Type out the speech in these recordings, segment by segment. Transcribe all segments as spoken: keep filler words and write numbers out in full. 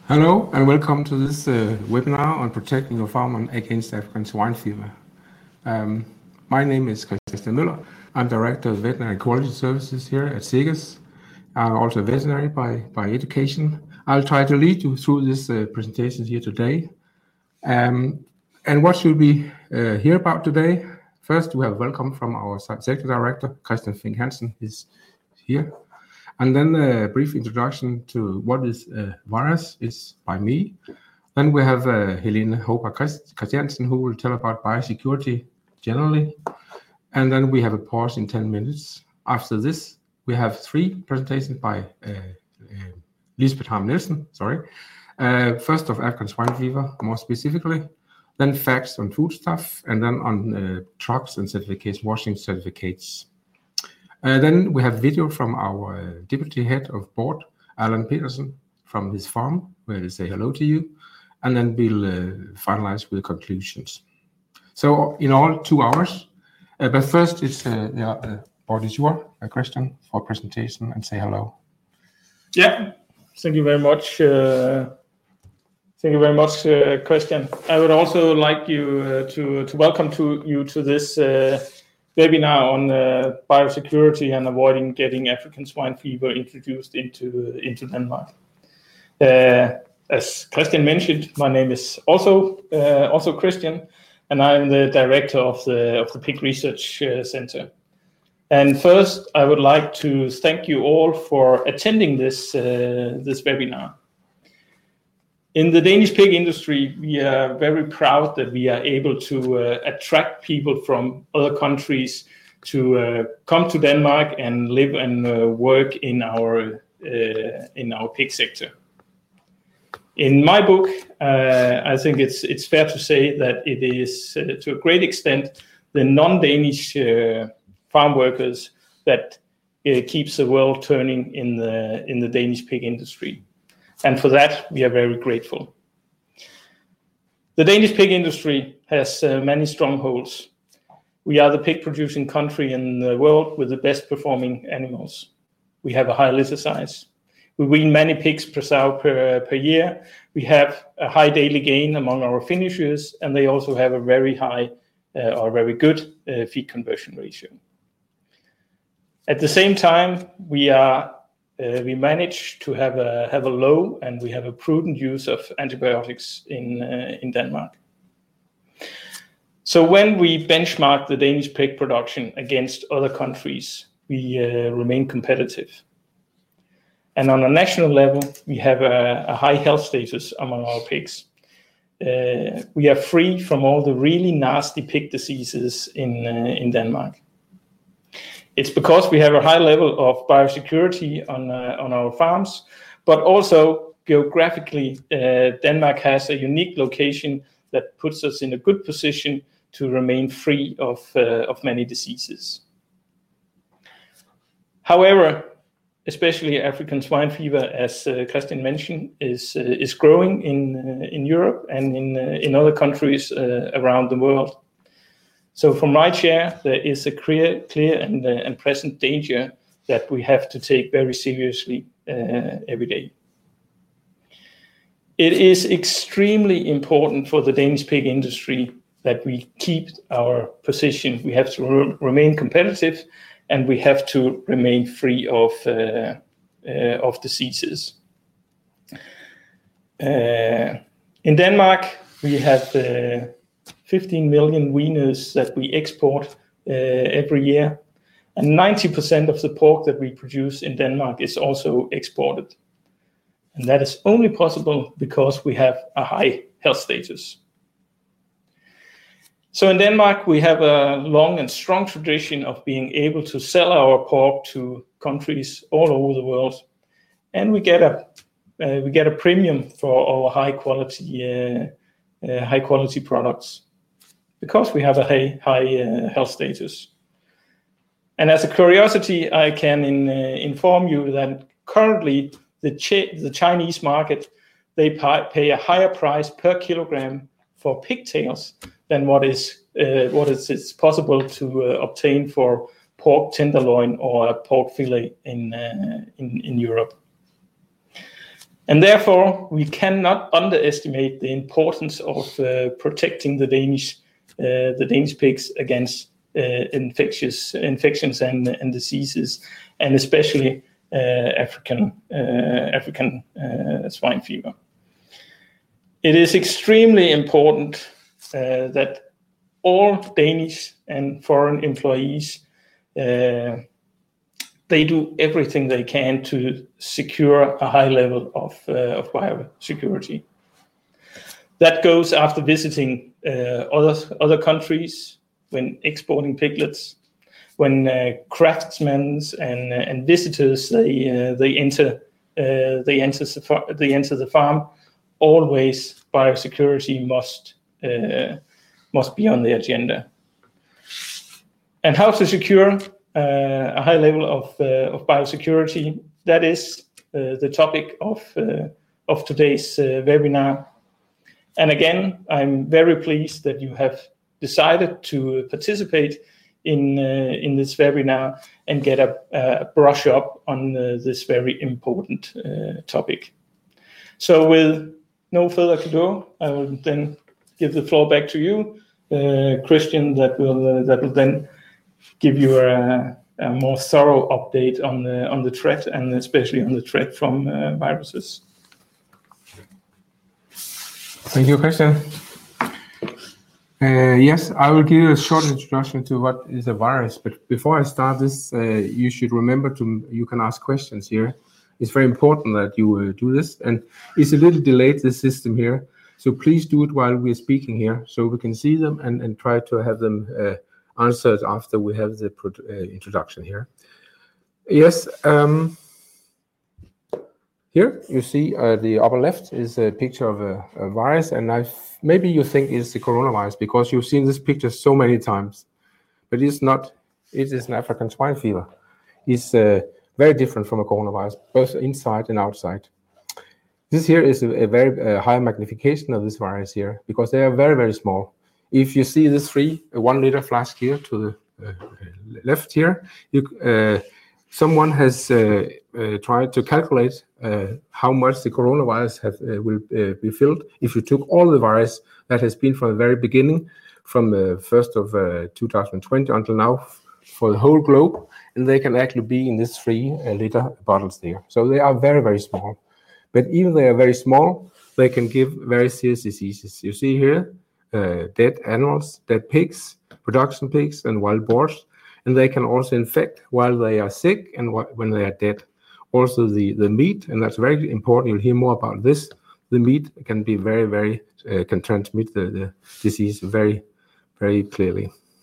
Hello and welcome to this uh, webinar on protecting your farm against African swine fever. Um, my name is Christian Møller. I'm Director of Veterinary Quality Services here at Segas. I'm also a veterinary by, by education. I'll try to lead you through this uh, presentation here today. Um, and what should we uh, hear about today? First, we have welcome from our Executive Director, Christian Fink Hansen, is here. And then a brief introduction to what is uh, virus is by me. Then we have uh, Helene Hober Christiansen, who will tell about biosecurity generally. And then we have a pause in ten minutes. After this, we have three presentations by uh, uh, Lisbeth Harm Nielsen, sorry. Uh, first of African swine fever, more specifically. Then facts on foodstuff, and then on uh, trucks and certificates, washing certificates. Uh, then we have video from our uh, deputy head of board, Alan Peterson, from his farm, where they say hello to you. And then we'll uh, finalize with conclusions. So in all, two hours. Uh, but first, it's uh, yeah, uh, board is your uh, question for presentation and say hello. Yeah, thank you very much. Uh, thank you very much, uh, Christian. I would also like you uh, to to welcome to you to this Uh, webinar on uh, biosecurity and avoiding getting African swine fever introduced into uh, into Denmark. Uh, as Christian mentioned, my name is also uh, also Christian, and I'm the director of the of the Pig Research uh, Center. And first, I would like to thank you all for attending this uh, this webinar. In the Danish pig industry, we are very proud that we are able to uh, attract people from other countries to uh, come to Denmark and live and uh, work in our uh, in our pig sector. In my book, uh, I think it's it's fair to say that it is uh, to a great extent the non-Danish uh, farm workers that uh, keeps the world turning in the in the Danish pig industry. And for that, we are very grateful. The Danish pig industry has uh, many strongholds. We are the pig producing country in the world with the best performing animals. We have a high litter size. We wean many pigs per sow per, per year. We have a high daily gain among our finishers, and they also have a very high uh, or very good uh, feed conversion ratio. At the same time, we are Uh, we manage to have a have a low and we have a prudent use of antibiotics in uh, in Denmark. So when we benchmark the Danish pig production against other countries, we uh, remain competitive. And on a national level, we have a, a high health status among our pigs. Uh, we are free from all the really nasty pig diseases in uh, in Denmark. It's because we have a high level of biosecurity on uh, on our farms, but also geographically, uh, Denmark has a unique location that puts us in a good position to remain free of uh, of many diseases. However, especially African swine fever, as uh, Christian mentioned, is uh, is growing in uh, in Europe and in uh, in other countries uh, around the world. So from my chair, there is a clear, clear and, uh, and present danger that we have to take very seriously uh, every day. It is extremely important for the Danish pig industry that we keep our position. We have to re- remain competitive, and we have to remain free of uh, uh, of diseases. Uh, in Denmark, we have Uh, fifteen million weaners that we export uh, every year, and ninety percent of the pork that we produce in Denmark is also exported. And that is only possible because we have a high health status. So in Denmark, we have a long and strong tradition of being able to sell our pork to countries all over the world, and we get a uh, we get a premium for our high quality uh, uh, high quality products, because we have a high, high uh, health status. And as a curiosity, I can in, uh, inform you that currently the, Ch- the Chinese market, they pay, pay a higher price per kilogram for pigtails than what is uh, what is it's possible to uh, obtain for pork tenderloin or a pork fillet in uh, in, in Europe. And therefore, we cannot underestimate the importance of uh, protecting the Danish, uh, the Danish pigs against uh, infectious infections and, and diseases, and especially uh, African uh, African uh, swine fever. It is extremely important uh, that all Danish and foreign employees uh, they do everything they can to secure a high level of, uh, of biosecurity. That goes after visiting uh, other, other countries, when exporting piglets, when uh, craftsmen and, uh, and visitors, they, uh, they, enter, uh, they, enter the far- they enter the farm, always biosecurity must, uh, must be on the agenda. And how to secure Uh, a high level of, uh, of biosecurity. That is uh, the topic of, uh, of today's uh, webinar. And again, I'm very pleased that you have decided to participate in, uh, in this webinar and get a, a brush up on uh, this very important uh, topic. So with no further ado, I will then give the floor back to you, uh, Christian, that will, uh, that will then give you a, a more thorough update on the on the threat, and especially on the threat from uh, viruses. Thank you, Christian. Uh, yes, I will give you a short introduction to what is a virus. But before I start this, uh, you should remember to you can ask questions here. It's very important that you uh, do this, and it's a little delayed, this system here. So please do it while we're speaking here, so we can see them and, and try to have them uh, answered after we have the uh, introduction here. Yes, um, here you see uh, the upper left is a picture of a, a virus, and I've, maybe you think it's the coronavirus because you've seen this picture so many times, but it's not. It is an African swine fever. It's uh, very different from a coronavirus, both inside and outside. This here is a, a very uh, high magnification of this virus here because they are very, very small. If you see this three, a one liter flask here to the uh, left here, you, uh, someone has uh, uh, tried to calculate uh, how much the coronavirus have, uh, will uh, be filled if you took all the virus that has been from the very beginning, from the first of uh, two thousand twenty until now, for the whole globe, and they can actually be in this three uh, liter bottles there. So they are very, very small. But even they are very small, they can give very serious diseases. You see here, Uh, dead animals, dead pigs, production pigs, and wild boars, and they can also infect while they are sick and wh- when they are dead. Also the, the meat, and that's very important, you'll hear more about this, the meat can be very, very, uh, can transmit the, the disease very, very clearly.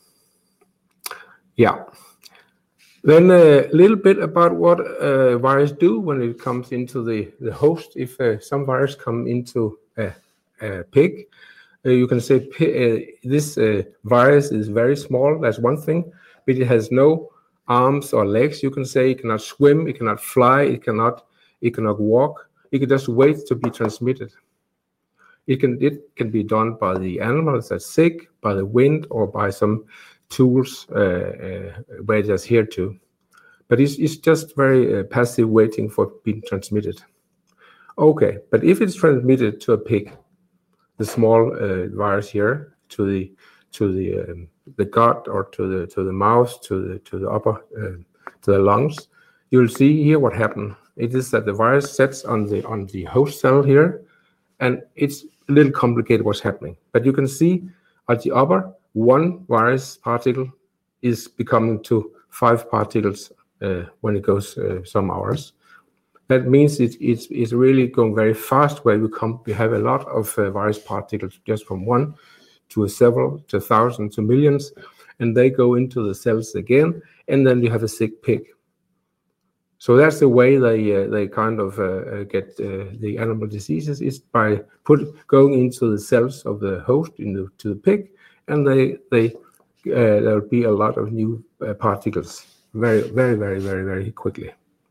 Yeah. Then a little bit about what uh, virus do when it comes into the, the host. If uh, some virus come into a, a pig, Uh, you can say uh, this uh, virus is very small, that's one thing, but it has no arms or legs. You can say it cannot swim, it cannot fly, it cannot it cannot walk. It can just wait to be transmitted. It can it can be done by the animals that's sick, by the wind, or by some tools uh, uh, where it is here to. But it's, it's just very uh, passive waiting for being transmitted. Okay, but if it's transmitted to a pig, the small uh, virus here to the to the um, the gut or to the to the mouth to the to the upper uh, to the lungs, you'll see here what happened. It is that the virus sets on the on the host cell here, and it's a little complicated what's happening. But you can see at the upper, one virus particle is becoming to five particles uh, when it goes uh, some hours. That means it, it's, it's really going very fast, where we come, we have a lot of uh, virus particles just from one to a several, to thousands, to millions, and they go into the cells again, and then you have a sick pig. So that's the way they uh, they kind of uh, get uh, the animal diseases, is by put going into the cells of the host in the, to the pig, and they they uh, there will be a lot of new uh, particles very very very very very quickly.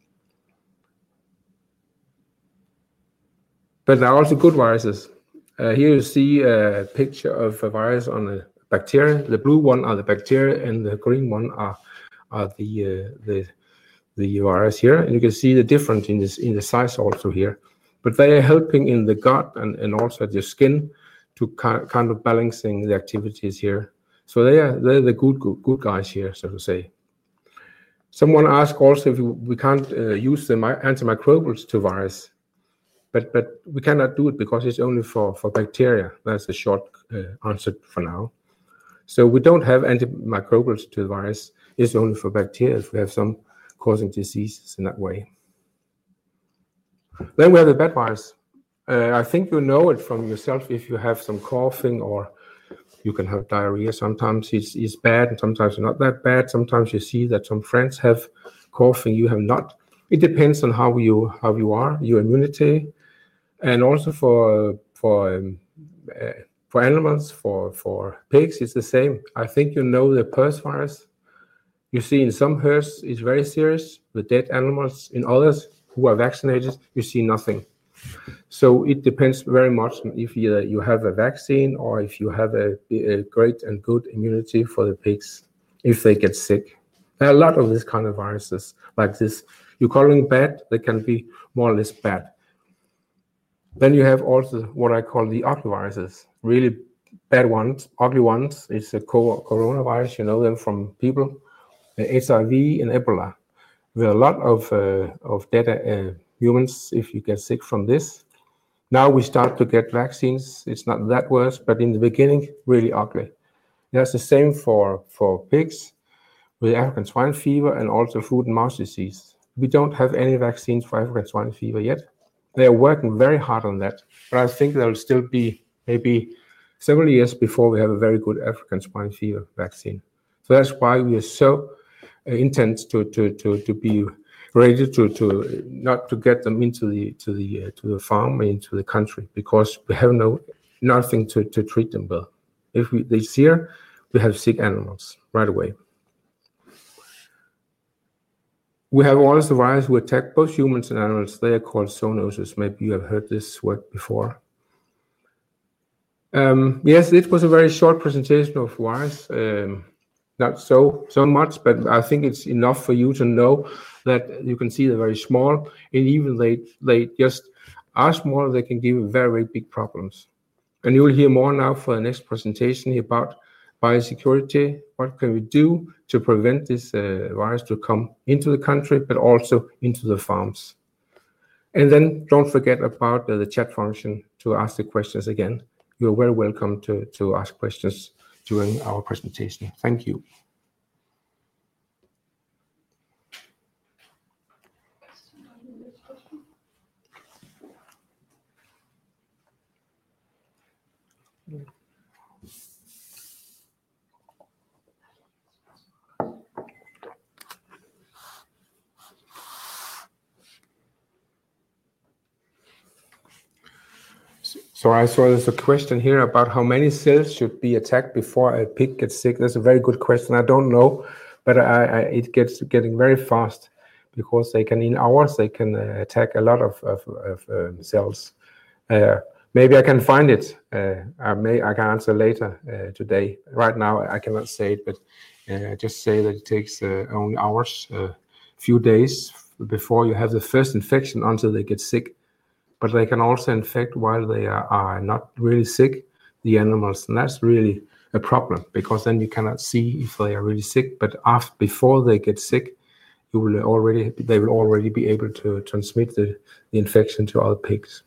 But there are also good viruses. Uh, here you see a picture of a virus on a bacteria. The blue one are the bacteria, and the green one are are the uh, the the virus here. And you can see the difference in this in the size also here. but they are helping in the gut and, and also at your skin to kind kind of balancing the activities here. So they are they're the good good, good guys here, so to say. Someone asked also if we can't uh, use the antimicrobials to virus, but but we cannot do it because it's only for, for bacteria. That's the short uh, answer for now. So we don't have antimicrobials to the virus. It's only for bacteria if we have some causing diseases in that way. Then we have the bad virus. Uh, I think you know it from yourself if you have some coughing or you can have diarrhea. Sometimes it's, it's bad and sometimes not that bad. Sometimes you see that some friends have coughing, you have not. It depends on how you how you are, your immunity, and also for for um, uh, for animals, for for pigs, it's the same. I think you know the PRRS virus. You see in some herds it's very serious with dead animals. In others who are vaccinated, you see nothing. So it depends very much on if you, you have a vaccine or if you have a, a great and good immunity for the pigs if they get sick. There are a lot of this kind of viruses like this. You call them bad, they can be more or less bad. Then you have also what I call the ugly viruses, really bad ones, ugly ones. It's a coronavirus, you know them from people, H I V and Ebola. There are a lot of, uh, of dead uh, humans if you get sick from this. Now we start to get vaccines. It's not that worse, but in the beginning, really ugly. That's the same for, for pigs with African swine fever and also foot and mouth disease. We don't have any vaccines for African swine fever yet. They are working very hard on that, but I think there will still be maybe several years before we have a very good African swine fever vaccine. So that's why we are so uh, intent to, to, to, to be ready to, to not to get them into the to the uh, to the farm and into the country because we have no nothing to, to treat them with. If we this year we have sick animals right away. We have also viruses who attack both humans and animals. They are called zoonoses. Maybe you have heard this word before. Um, yes, it was a very short presentation of virus. Um, not so so much, but I think it's enough for you to know that you can see they're very small, and even they they just are small, they can give very, very big problems. And you will hear more now for the next presentation about biosecurity. What can we do to prevent this uh, virus to come into the country, but also into the farms? And then don't forget about uh, the chat function to ask the questions again. You're very welcome to, to ask questions during our presentation. Thank you. So I saw there's a question here about how many cells should be attacked before a pig gets sick. That's a very good question. I don't know, but I, I, it gets getting very fast because they can, in hours, they can uh, attack a lot of, of, of um, cells. Uh, maybe I can find it. Uh, I may I can answer later uh, today. Right now I cannot say it, but uh, just say that it takes uh, only hours, a uh, few days before you have the first infection until they get sick. But they can also infect while they are, are not really sick, the animals. And that's really a problem because then you cannot see if they are really sick. But after, before they get sick, you will already they will already be able to transmit the, the infection to other pigs.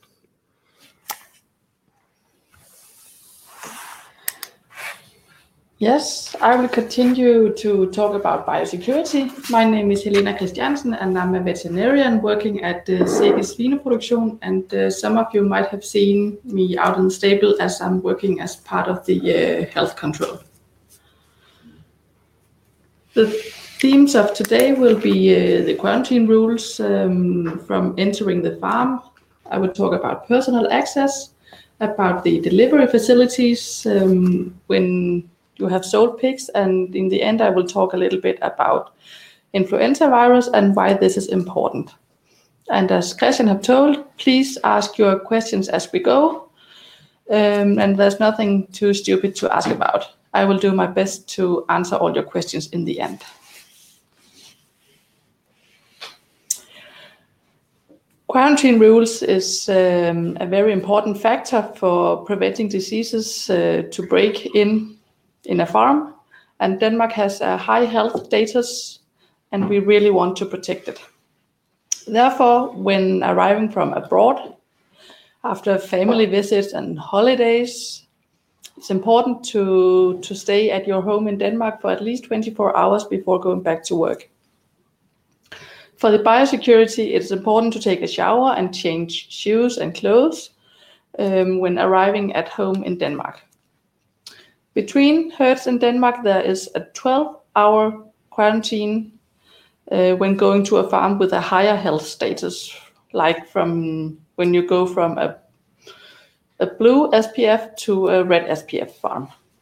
Yes, I will continue to talk about biosecurity. My name is Helena Christiansen, and I'm a veterinarian working at the Seges Svineproduktion. And uh, some of you might have seen me out in the stable as I'm working as part of the uh, health control. The themes of today will be uh, the quarantine rules um, from entering the farm. I will talk about personal access, about the delivery facilities um, when you have sold pigs, and in the end I will talk a little bit about influenza virus and why this is important. And as Christian have told, please ask your questions as we go, um, and there's nothing too stupid to ask about. I will do my best to answer all your questions in the end. Quarantine rules is um, a very important factor for preventing diseases uh, to break in in a farm, and Denmark has a high health status, and we really want to protect it. Therefore, when arriving from abroad, after family visits and holidays, it's important to, to stay at your home in Denmark for at least twenty-four hours before going back to work. For the biosecurity, it's important to take a shower and change shoes and clothes um, when arriving at home in Denmark. Between herds in Denmark, there is a twelve-hour quarantine uh, when going to a farm with a higher health status, like from when you go from a, a blue S P F to a red S P F farm.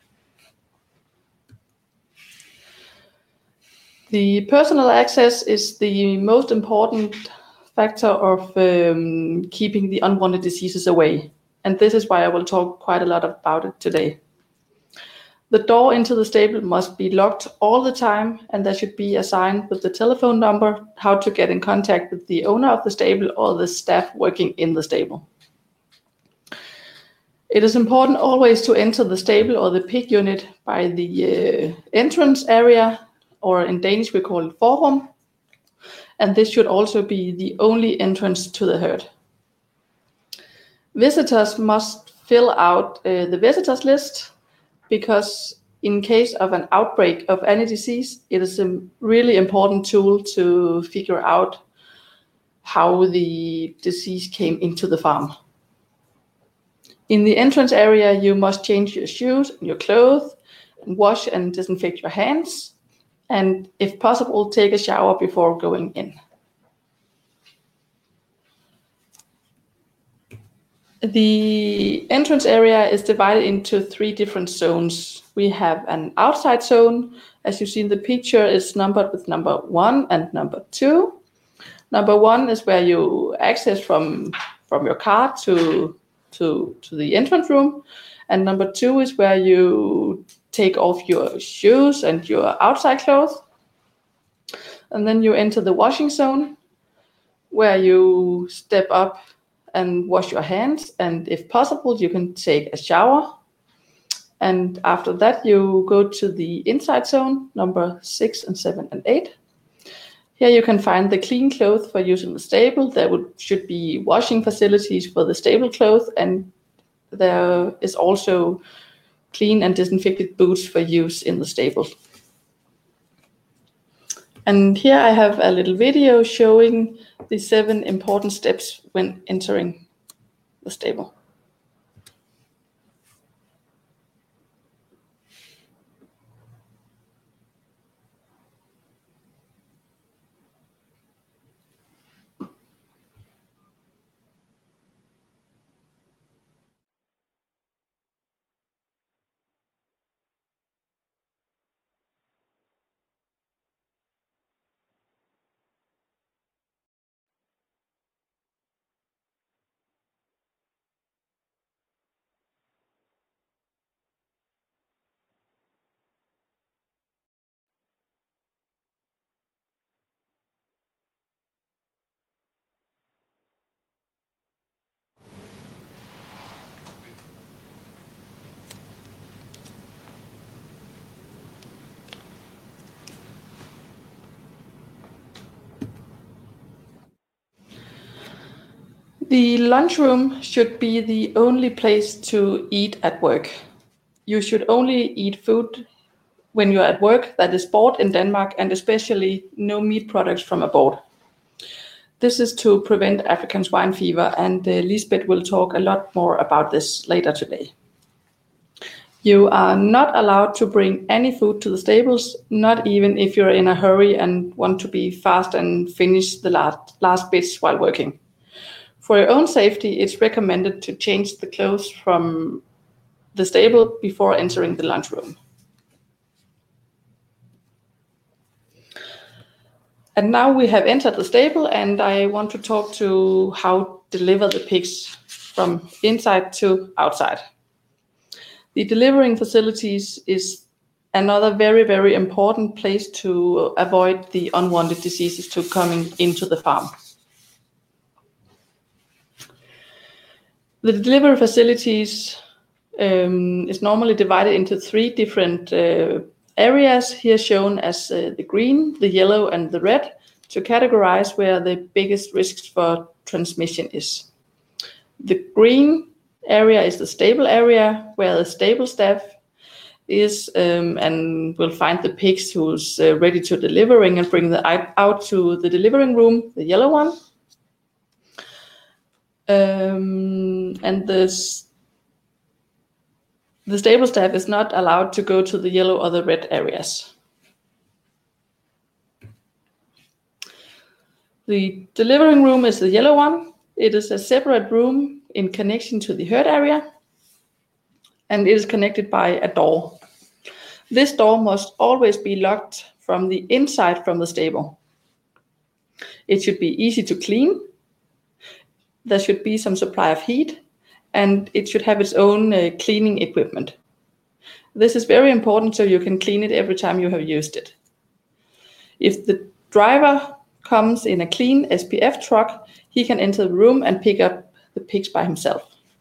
The personal access is the most important factor of um, keeping the unwanted diseases away. And this is why I will talk quite a lot about it today. The door into the stable must be locked all the time, and there should be a sign with the telephone number how to get in contact with the owner of the stable or the staff working in the stable. It is important always to enter the stable or the pig unit by the uh, entrance area, or in Danish we call it forrum, and this should also be the only entrance to the herd. Visitors must fill out uh, the visitors list, because in case of an outbreak of any disease, it is a really important tool to figure out how the disease came into the farm. In the entrance area, you must change your shoes and your clothes, and wash and disinfect your hands, and if possible, take a shower before going in. The entrance area is divided into three different zones. We have an outside zone, as you see in the picture, is numbered with number one and number two. Number one is where you access from, from your car to, to, to the entrance room. And number two is where you take off your shoes and your outside clothes. And then you enter the washing zone, where you step up and wash your hands, and if possible, you can take a shower. And after that, you go to the inside zone, number six and seven and eight. Here you can find the clean clothes for use in the stable. There would, should be washing facilities for the stable clothes, and there is also clean and disinfected boots for use in the stable. And here I have a little video showing the seven important steps when entering the stable. The lunchroom should be the only place to eat at work. You should only eat food when you're at work that is bought in Denmark, and especially no meat products from abroad. This is to prevent African swine fever, and uh, Lisbeth will talk a lot more about this later today. You are not allowed to bring any food to the stables, not even if you're in a hurry and want to be fast and finish the last, last bits while working. For your own safety, it's recommended to change the clothes from the stable before entering the lunchroom. And now we have entered the stable, and I want to talk to how to deliver the pigs from inside to outside. The delivering facilities is another very, very important place to avoid the unwanted diseases to coming into the farm. The delivery facilities um, is normally divided into three different uh, areas, here shown as uh, the green, the yellow, and the red, to categorize where the biggest risks for transmission is. The green area is the stable area, where the stable staff is um, and will find the pigs who's uh, ready to delivering and bring the out to the delivering room, the yellow one. Um, and this, the stable staff is not allowed to go to the yellow or the red areas. The delivering room is the yellow one. It is a separate room in connection to the herd area, and it is connected by a door. This door must always be locked from the inside from the stable. It should be easy to clean. There should be some supply of heat, and it should have its own uh, cleaning equipment. This is very important so you can clean it every time you have used it. If the driver comes in a clean S P F truck, he can enter the room and pick up the pigs by himself.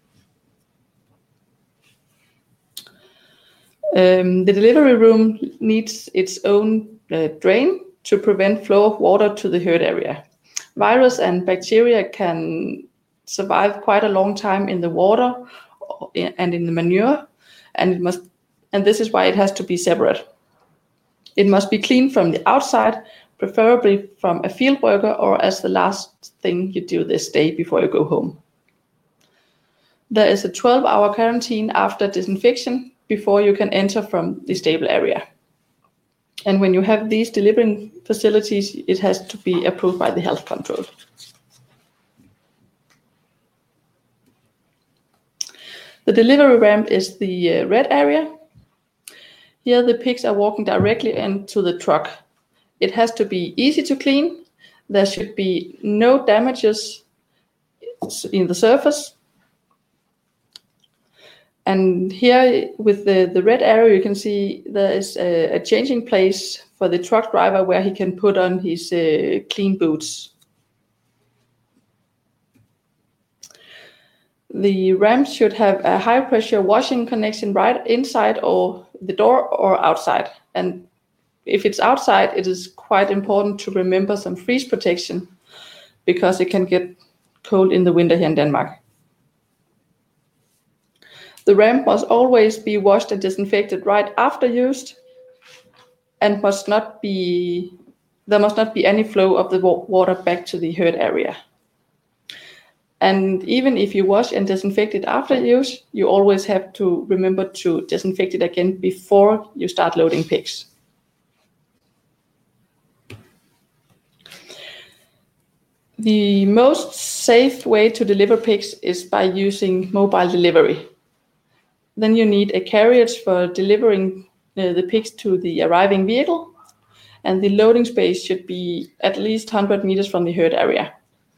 Um, the delivery room needs its own uh, drain to prevent flow of water to the herd area. Virus and bacteria can survive quite a long time in the water and in the manure, and it must, and this is why it has to be separate. It must be cleaned from the outside, preferably from a field worker or as the last thing you do this day before you go home. There is a twelve hour quarantine after disinfection before you can enter from the stable area. And when you have these delivering facilities, it has to be approved by the health control. The delivery ramp is the uh, red area. Here the pigs are walking directly into the truck. It has to be easy to clean. There should be no damages in the surface. And here with the, the red area, you can see there is a, a changing place for the truck driver where he can put on his uh, clean boots. The ramp should have a high pressure washing connection right inside or the door or outside. And if it's outside, it is quite important to remember some freeze protection because it can get cold in the winter here in Denmark. The ramp must always be washed and disinfected right after use, and must not be, there must not be any flow of the water back to the herd area. And even if you wash and disinfect it after use, you always have to remember to disinfect it again before you start loading pigs. The most safe way to deliver pigs is by using mobile delivery. Then you need a carriage for delivering uh, the pigs to the arriving vehicle, and the loading space should be at least one hundred meters from the herd area.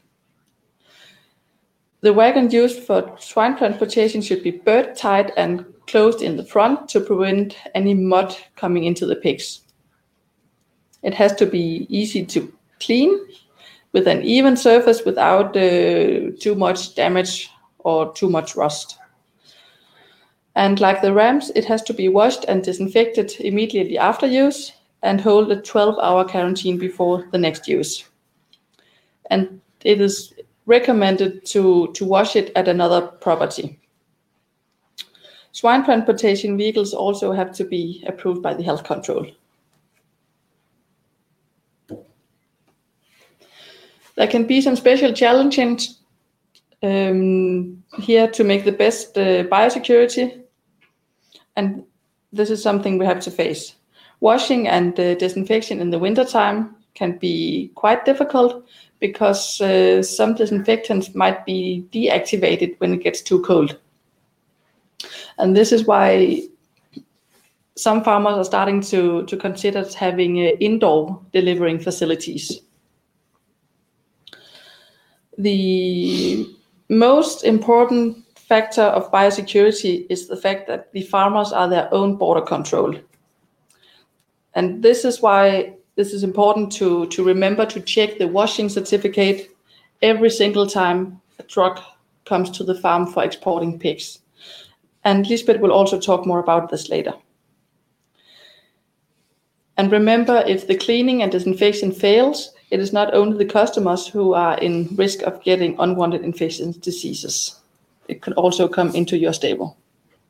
The wagon used for swine transportation should be bird tied and closed in the front to prevent any mud coming into the pigs. It has to be easy to clean with an even surface without uh, too much damage or too much rust. And like the ramps, it has to be washed and disinfected immediately after use and hold a twelve hour quarantine before the next use. And it is recommended to, to wash it at another property. Swine transportation vehicles also have to be approved by the health control. There can be some special challenges um, here to make the best uh, biosecurity, and this is something we have to face. Washing and uh, disinfection in the wintertime can be quite difficult because uh, some disinfectants might be deactivated when it gets too cold. And this is why some farmers are starting to, to consider having uh, indoor delivering facilities. The most important factor of biosecurity is the fact that the farmers are their own border control. And this is why this is important to, to remember to check the washing certificate every single time a truck comes to the farm for exporting pigs. And Lisbeth will also talk more about this later. And remember, if the cleaning and disinfection fails, it is not only the customers who are in risk of getting unwanted infectious diseases. It could also come into your stable.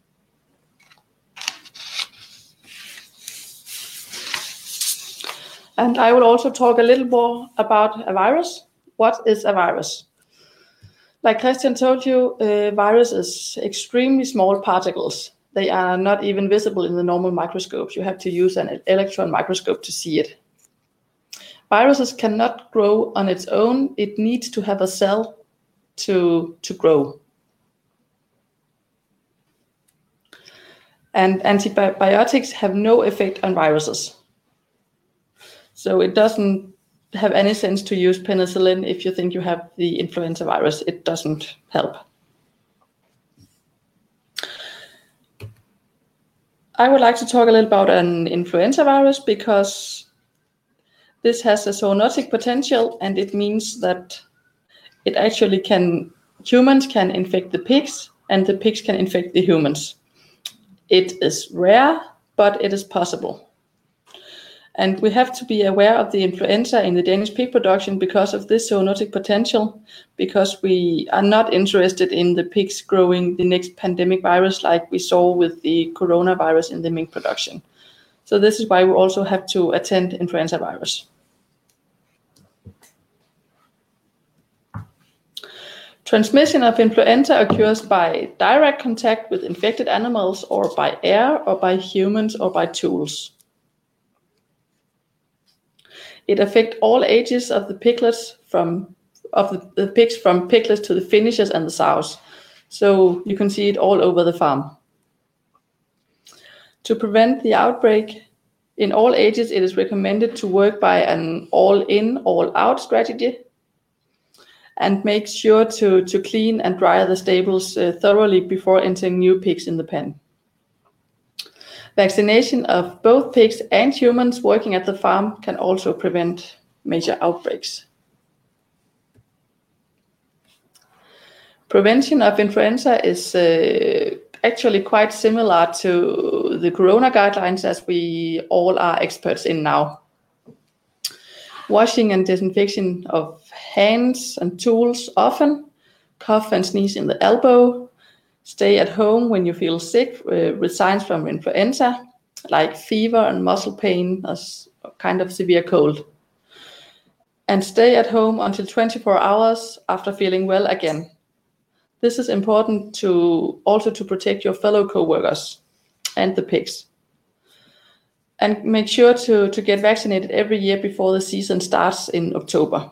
And I will also talk a little more about a virus. What is a virus? Like Christian told you, a virus is extremely small particles. They are not even visible in the normal microscopes. You have to use an electron microscope to see it. Viruses cannot grow on its own. It needs to have a cell to, to grow. And antibiotics have no effect on viruses. So it doesn't have any sense to use penicillin if you think you have the influenza virus. It doesn't help. I would like to talk a little about an influenza virus because this has a zoonotic potential, and it means that it actually can, humans can infect the pigs and the pigs can infect the humans. It is rare, but it is possible. And we have to be aware of the influenza in the Danish pig production because of this zoonotic potential, because we are not interested in the pigs growing the next pandemic virus like we saw with the coronavirus in the mink production. So this is why we also have to attend influenza virus. Transmission of influenza occurs by direct contact with infected animals or by air or by humans or by tools. It affects all ages of the piglets from of the, the pigs from piglets to the finishers and the sows. So you can see it all over the farm. To prevent the outbreak in all ages, it is recommended to work by an all-in, all-out strategy and make sure to, to clean and dry the stables uh, thoroughly before entering new pigs in the pen. Vaccination of both pigs and humans working at the farm can also prevent major outbreaks. Prevention of influenza is uh, actually quite similar to the corona guidelines as we all are experts in now. Washing and disinfection of hands and tools often, cough and sneeze in the elbow, stay at home when you feel sick uh, with signs from influenza, like fever and muscle pain, as kind of severe cold. And stay at home until twenty-four hours after feeling well again. This is important to also to protect your fellow co-workers and the pigs. And make sure to, to get vaccinated every year before the season starts in October.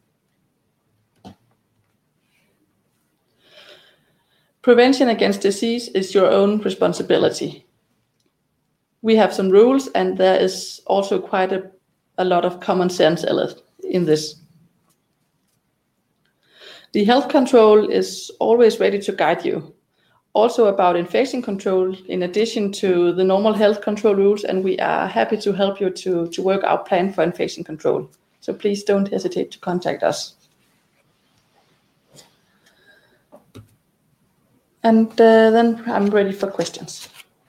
Prevention against disease is your own responsibility. We have some rules, and there is also quite a, a lot of common sense in this. The health control is always ready to guide you. Also about infection control, in addition to the normal health control rules, and we are happy to help you to, to work our plan for infection control. So please don't hesitate to contact us. And uh, then I'm ready for questions.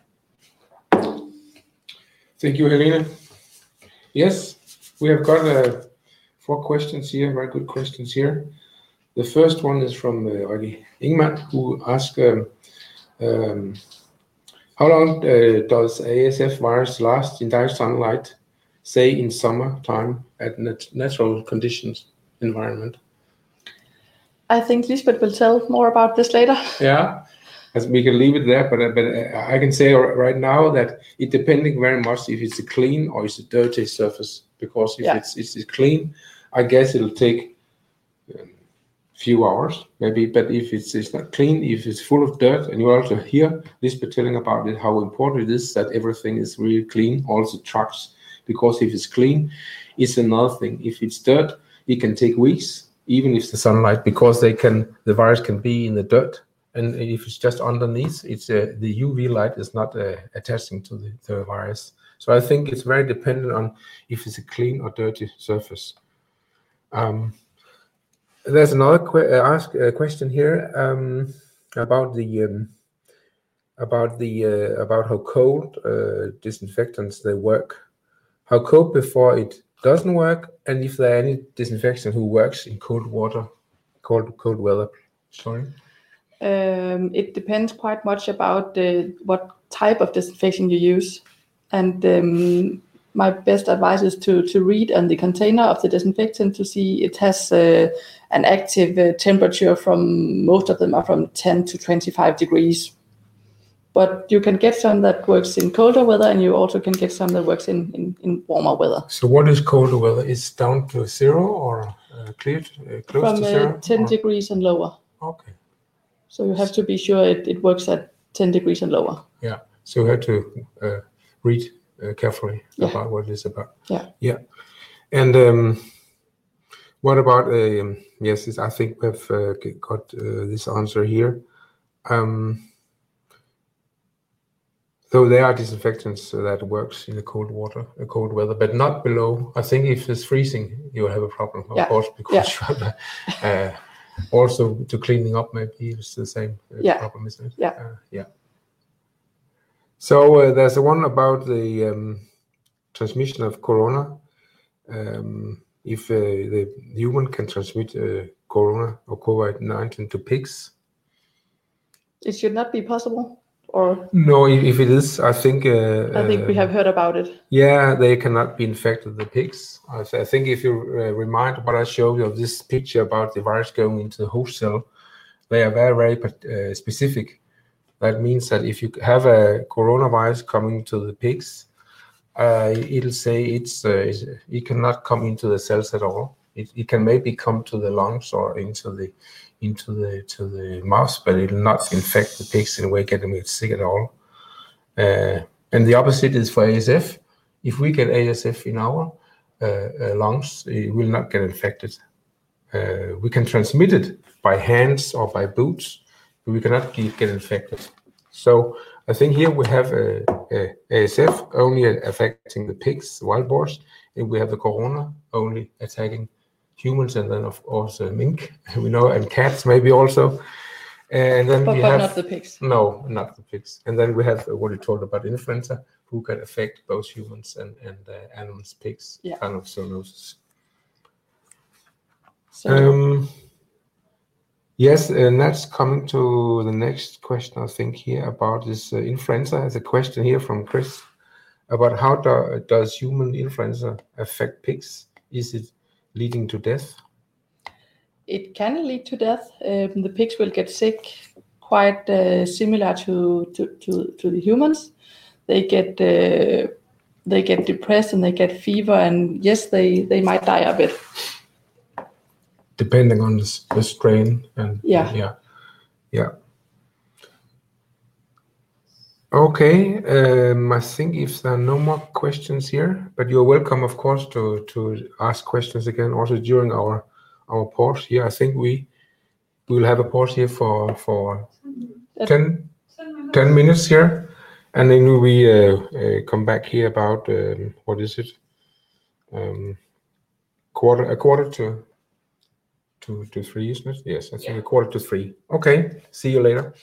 Thank you, Helene. Yes, we have got uh, four questions here, very good questions here. The first one is from uh, Regi Ingman, who asked, um, um, how long uh, does A S F virus last in direct sunlight, say in summertime at nat natural conditions environment? I think Lisbeth will tell more about this later. Yeah, as we can leave it there, but, uh, but uh, I can say right now that it depending very much if it's a clean or it's a dirty surface, because if yeah. it's, it's clean, I guess it'll take um, few hours maybe, but if it's, it's not clean, if it's full of dirt, and you also hear Lisbeth telling about it, how important it is that everything is really clean, also trucks, because if it's clean, it's another thing. If it's dirt, it can take weeks, even if the sunlight, because they can, the virus can be in the dirt, and if it's just underneath, it's uh, the U V light is not uh, attaching to the, the virus. So I think it's very dependent on if it's a clean or dirty surface. Um, There's another que- uh, ask uh, question here um, about the um, about the uh, about how cold uh, disinfectants they work. How cold before it doesn't work, and if there are any disinfectant who works in cold water, cold cold weather. Sorry. Um, it depends quite much about the, what type of disinfection you use. And um, my best advice is to, to read on the container of the disinfectant to see it has uh, an active uh, temperature from, most of them are from ten to twenty-five degrees. But you can get some that works in colder weather, and you also can get some that works in, in, in warmer weather. So what is colder weather? Is down to zero or uh, clear, uh, close From to zero? uh, ten or? degrees and lower. Okay. So you have to be sure it, it works at ten degrees and lower. Yeah. So you have to uh, read uh, carefully Yeah. about what it's about. Yeah. Yeah. And um, what about, um, yes, I think we've uh, got uh, this answer here. Um, so there are disinfectants that works in the cold water, uh, cold weather, but not below. I think if it's freezing, you'll have a problem, of Yeah. course, because Yeah. you have uh, also to cleaning up, maybe it's the same uh, Yeah. problem, isn't it? Yeah. Uh, yeah. So uh, there's the one about the um, transmission of corona. Um, if uh, the human can transmit uh, corona or COVID nineteen to pigs. It should not be possible, or No, if, if it is, I think. Uh, I think we um, have heard about it. Yeah, they cannot be infected, the pigs. I, th- I think if you uh, remind what I showed you of this picture about the virus going into the host cell, they are very, very uh, specific. That means that if you have a coronavirus coming to the pigs, uh, it'll say it's uh, it cannot come into the cells at all. It, it can maybe come to the lungs or into the into the to the mouth, but it will not infect the pigs in a way, get them sick at all. Uh, and the opposite is for A S F. If we get A S F in our uh, uh, lungs, it will not get infected. Uh, we can transmit it by hands or by boots, but we cannot get, get infected. So I think here we have a, a A S F only affecting the pigs, wild boars, and we have the corona only attacking humans, and then of course uh, mink, we know, and cats maybe also. And then But, we but have not the pigs. no, not the pigs. And then we have uh, what you told about influenza, who can affect both humans and and uh, animals, pigs, Yeah. kind of zoonosis. So, Um, yes, and that's coming to the next question, I think, here about this uh, influenza. There's a question here from Chris about how do, does human influenza affect pigs? Is it leading to death? it can lead to death. Um, the pigs will get sick, quite uh, similar to, to, to, to the humans. They get uh, they get depressed and they get fever, and yes, they, they might die a bit. Depending on the, the strain and Yeah. yeah, yeah. Okay, um, I think if there are no more questions here, but you're welcome, of course, to to ask questions again also during our our pause here. I think we we will have a pause here for for ten, ten minutes here, and then we uh, uh, come back here about um, what is it? Um, quarter a quarter to to to three, isn't it? Yes, I think Yeah. a quarter to three. Okay, see you later.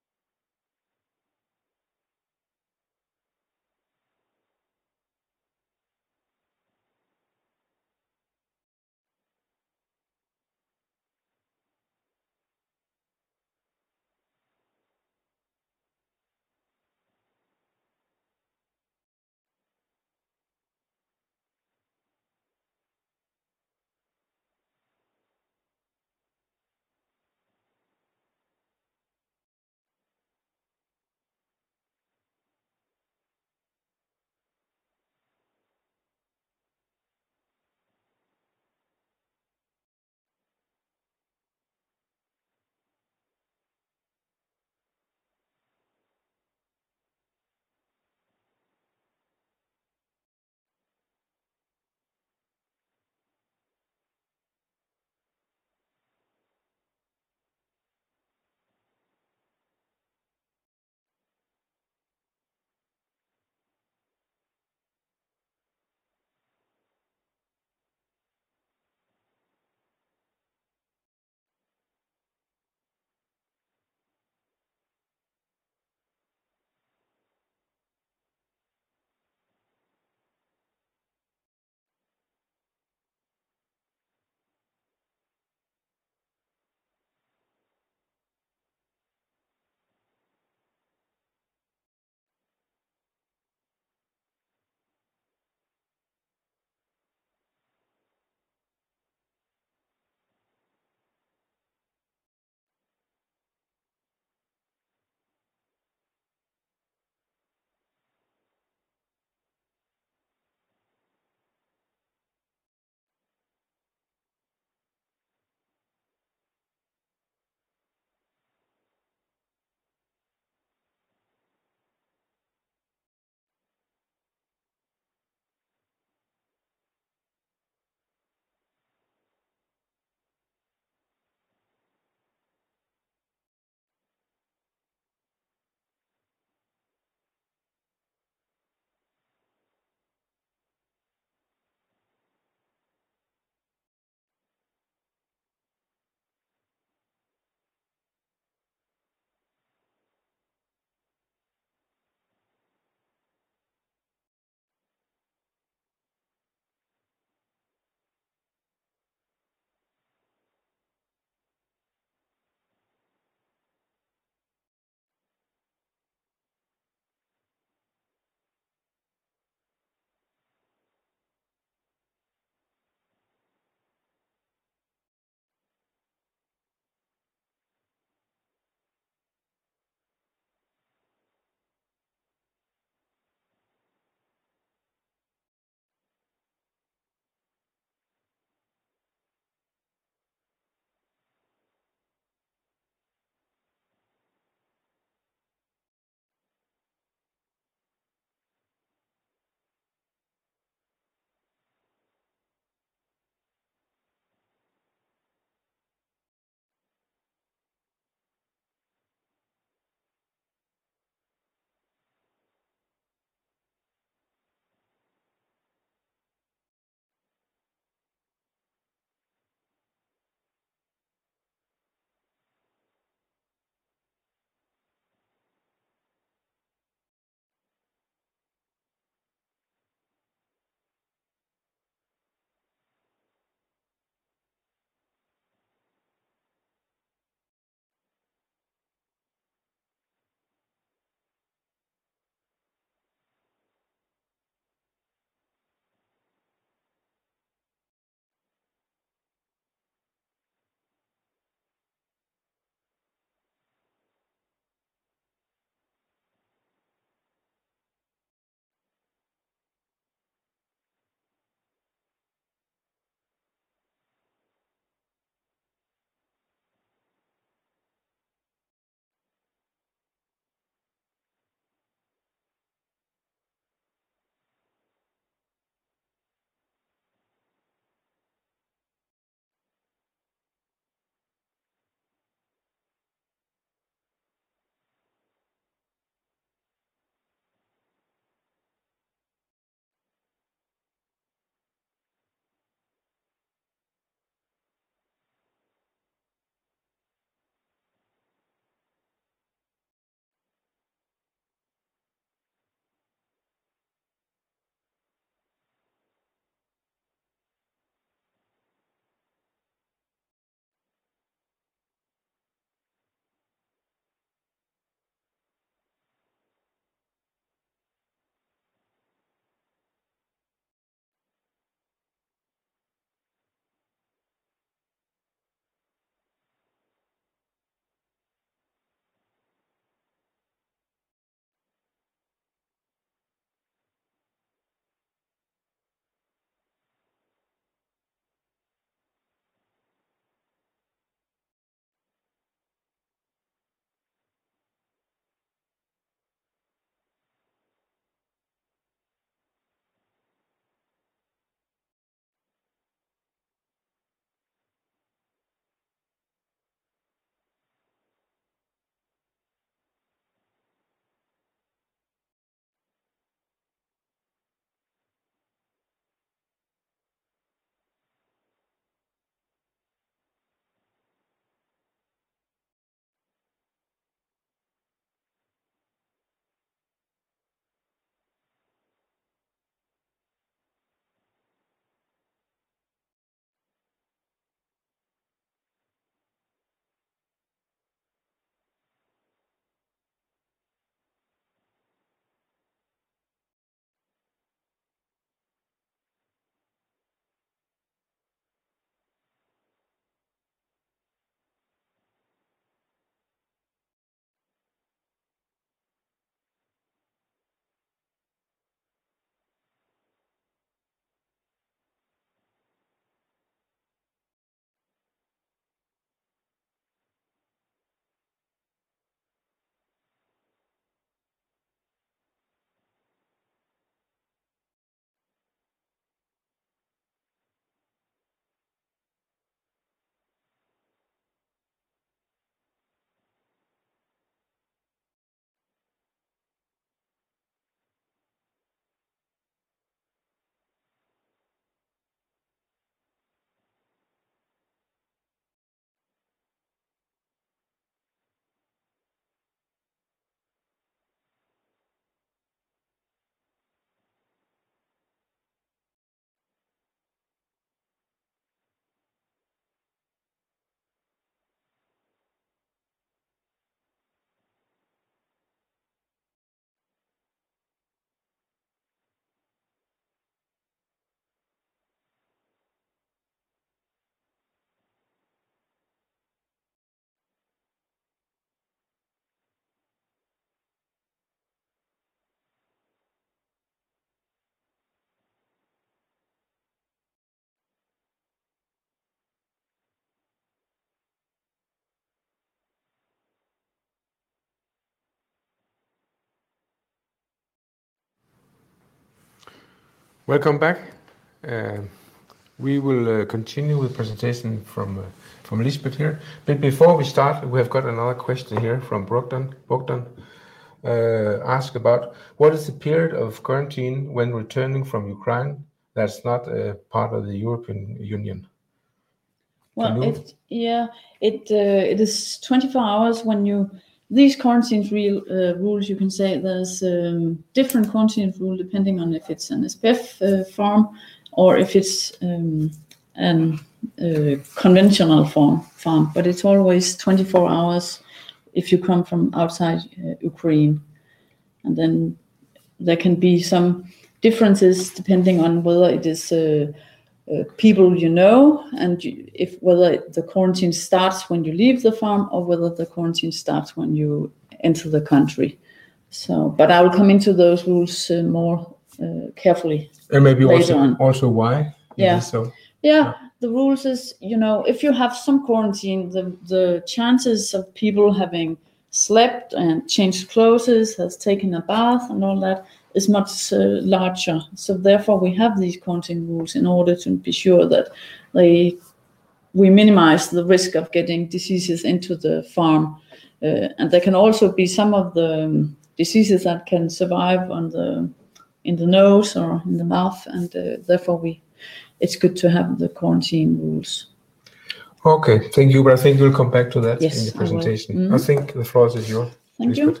Welcome back. Uh, we will uh, continue with the presentation from uh, from Lisbeth here. But before we start, we have got another question here from Bogdan. Bogdan uh, asked about what is the period of quarantine when returning from Ukraine that's not a part of the European Union? Well, it, yeah, it uh, it is twenty-four hours when you. These quarantine real, uh, rules, you can say there's um, different quarantine rule depending on if it's an S P F uh, farm or if it's um, an uh, conventional farm, farm. But it's always twenty-four hours if you come from outside uh, Ukraine. And then there can be some differences depending on whether it is uh, uh, people you know, and you, if whether the quarantine starts when you leave the farm or whether the quarantine starts when you enter the country. So, but I will come into those rules uh, more uh, carefully. And maybe later also on. also why? Yeah. So yeah. yeah. The rules is, you know, if you have some quarantine, the the chances of people having slept and changed clothes, has taken a bath and all that is much uh, larger. So therefore we have these quarantine rules in order to be sure that they we minimize the risk of getting diseases into the farm. Uh, and there can also be some of the um, diseases that can survive on the in the nose or in the mouth, and uh, therefore we it's good to have the quarantine rules. Okay, thank you. But I think we'll come back to that Yes, in the I will. presentation. I, Mm-hmm. think the floor is yours. Thank Lisbeth. you.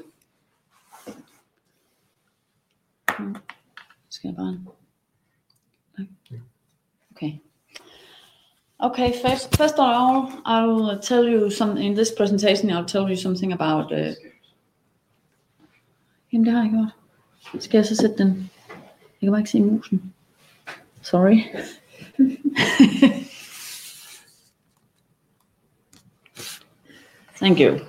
Skal jeg bare... Okay. Okay, first, first of all, I'll tell you something, in this presentation, I'll tell you something about... Uh... Jamen, det har jeg gjort. Skal jeg så sætte den? Jeg kan bare ikke se musen. Sorry. Thank you.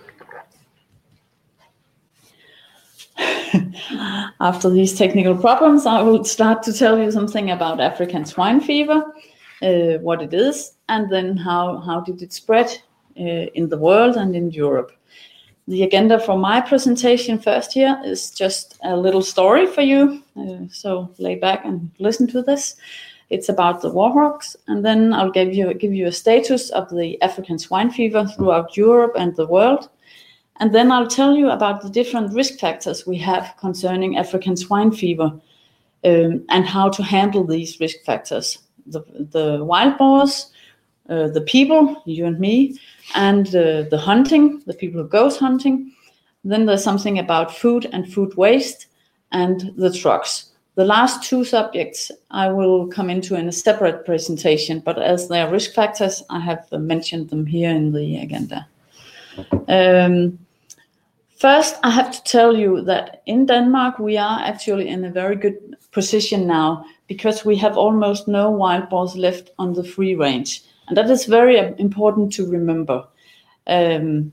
After these technical problems, I will start to tell you something about African swine fever, uh, what it is, and then how, how did it spread uh, in the world and in Europe. The agenda for my presentation first here is just a little story for you, uh, so lay back and listen to this. It's about the warthogs, and then I'll give you, give you a status of the African swine fever throughout Europe and the world. And then I'll tell you about the different risk factors we have concerning African swine fever um, and how to handle these risk factors. The, the wild boars, uh, the people, you and me, and uh, the hunting, the people who goes hunting. Then there's something about food and food waste and the trucks. The last two subjects I will come into in a separate presentation, but as they are risk factors, I have uh, mentioned them here in the agenda. Um, First, I have to tell you that in Denmark, we are actually in a very good position now because we have almost no wild boars left on the free range. And that is very important to remember. Um,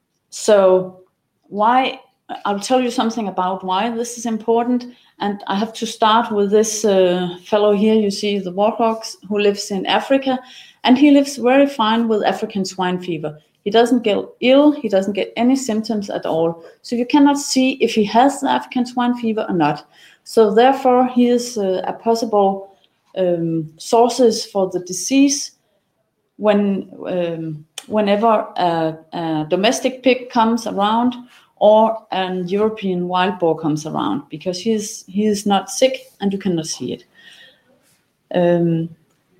so why, I'll tell you something about why this is important. And I have to start with this uh, fellow here, you see the warthogs, who lives in Africa. And he lives very fine with African swine fever. He doesn't get ill, he doesn't get any symptoms at all. So you cannot see if he has the African swine fever or not. So therefore, he is uh, a possible um, sources for the disease when um, whenever a, a domestic pig comes around or an European wild boar comes around, because he is, he is not sick and you cannot see it. Um,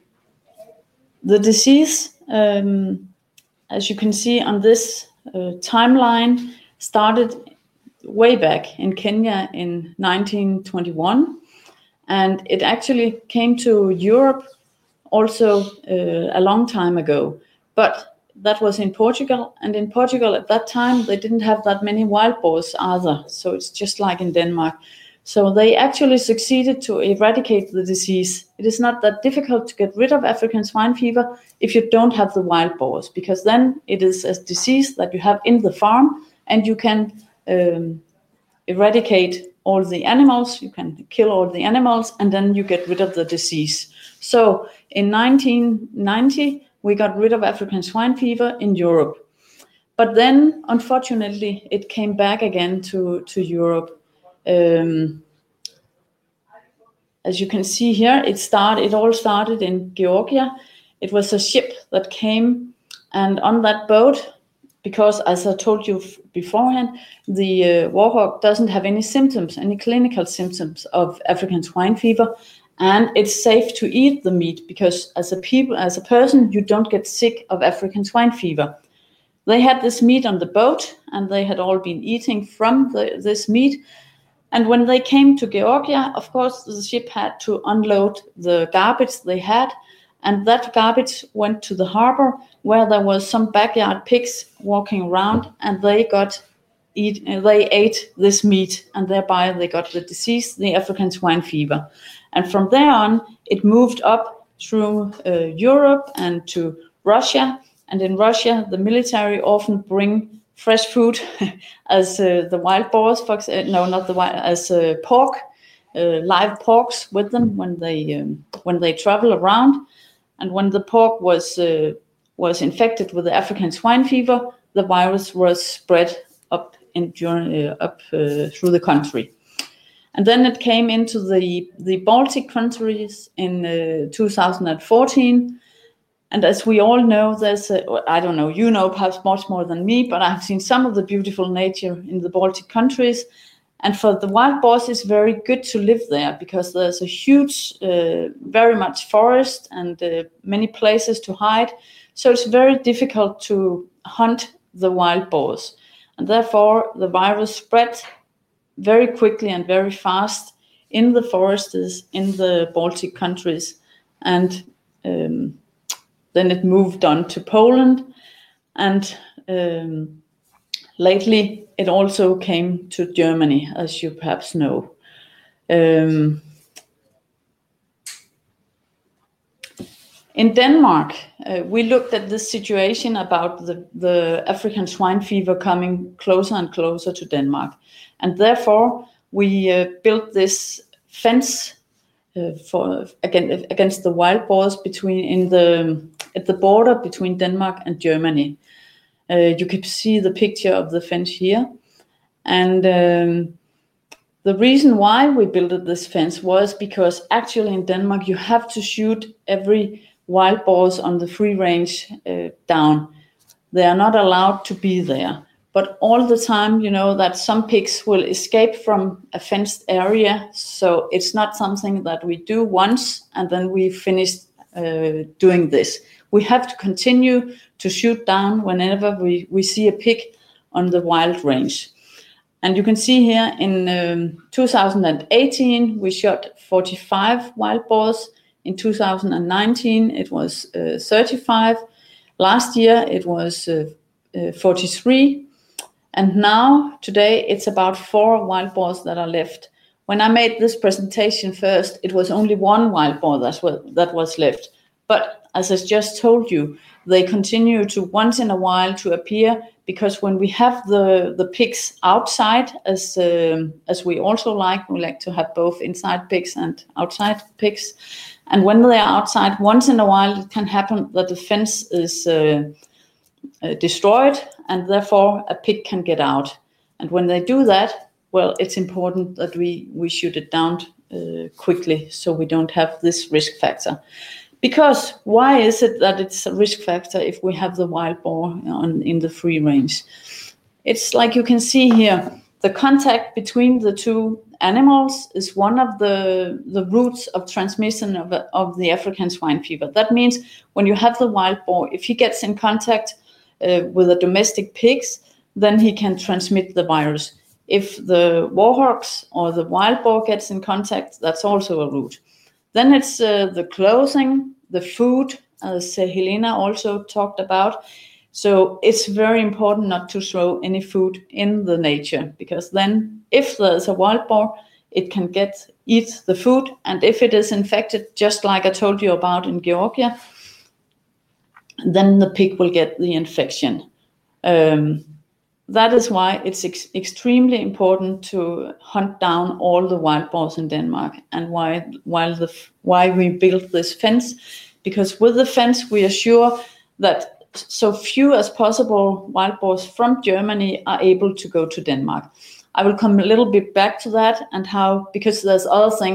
the disease... Um, As you can see on this uh, timeline, started way back in Kenya in nineteen twenty-one, and it actually came to Europe also uh, a long time ago. But that was in Portugal, and in Portugal at that time they didn't have that many wild boars either, so it's just like in Denmark. So they actually succeeded to eradicate the disease. It is not that difficult to get rid of African swine fever if you don't have the wild boars, because then it is a disease that you have in the farm and you can um, eradicate all the animals, you can kill all the animals, and then you get rid of the disease. So in nineteen ninety, we got rid of African swine fever in Europe. But then, unfortunately, it came back again to, to Europe. Um, as you can see here, it started. It all started in Georgia. It was a ship that came, and on that boat, because as I told you f- beforehand, the uh, warhawk doesn't have any symptoms, any clinical symptoms of African swine fever, and it's safe to eat the meat because as a people, as a person, you don't get sick of African swine fever. They had this meat on the boat, and they had all been eating from the, this meat. And when they came to Georgia, of course, the ship had to unload the garbage they had, and that garbage went to the harbor where there was some backyard pigs walking around, and they got eat, they ate this meat, and thereby they got the disease, the African swine fever. And from there on, it moved up through uh, Europe and to Russia. And in Russia, the military often bring fresh food as uh, the wild boars, for example, no, not the wild, as uh, pork, uh, live porks with them when they um, when they travel around. And when the pork was uh, was infected with the African swine fever, the virus was spread up in uh, up uh, through the country. And then it came into the the Baltic countries in uh, two thousand fourteen. And as we all know, there's a, I don't know, you know perhaps much more than me, but I've seen some of the beautiful nature in the Baltic countries. And for the wild boars, it's very good to live there because there's a huge, uh, very much forest and uh, many places to hide. So it's very difficult to hunt the wild boars. And therefore, the virus spread very quickly and very fast in the forests in the Baltic countries. And um, then it moved on to Poland, and um, lately it also came to Germany, as you perhaps know. Um, in Denmark, uh, we looked at this situation about the, the African swine fever coming closer and closer to Denmark, and therefore we uh, built this fence Uh, for again against the wild boars between in the at the border between Denmark and Germany. Uh, you can see the picture of the fence here, and um, the reason why we built this fence was because actually in Denmark you have to shoot every wild boars on the free range uh, down. They are not allowed to be there. But all the time, you know, that some pigs will escape from a fenced area. So it's not something that we do once and then we finish uh, doing this. We have to continue to shoot down whenever we, we see a pig on the wild range. And you can see here in um, two thousand eighteen, we shot forty-five wild boars. In two thousand nineteen, it was uh, thirty-five. Last year, it was uh, uh, forty-three. And now, today, it's about four wild boars that are left. When I made this presentation first, it was only one wild boar that was, that was left. But as I just told you, they continue to once in a while to appear because when we have the, the pigs outside, as um, as we also like, we like to have both inside pigs and outside pigs. And when they are outside, once in a while, it can happen that the fence is uh, uh, destroyed, and therefore a pig can get out. And when they do that, well, it's important that we, we shoot it down uh, quickly so we don't have this risk factor. Because why is it that it's a risk factor if we have the wild boar on, in the free range? It's like you can see here, the contact between the two animals is one of the, the routes of transmission of, of the African swine fever. That means when you have the wild boar, if he gets in contact Uh, with a domestic pigs, then he can transmit the virus. If the warhawks or the wild boar gets in contact, that's also a route. Then it's uh, the clothing, the food, as uh, Helena also talked about. So it's very important not to throw any food in the nature, because then if there's a wild boar, it can get eat the food, and if it is infected, just like I told you about in Georgia, then the pig will get the infection. Um, that is why it's ex- extremely important to hunt down all the wild boars in Denmark, and why while the why we built this fence, because with the fence we are sure that so few as possible wild boars from Germany are able to go to Denmark. I will come a little bit back to that and how, because there's other things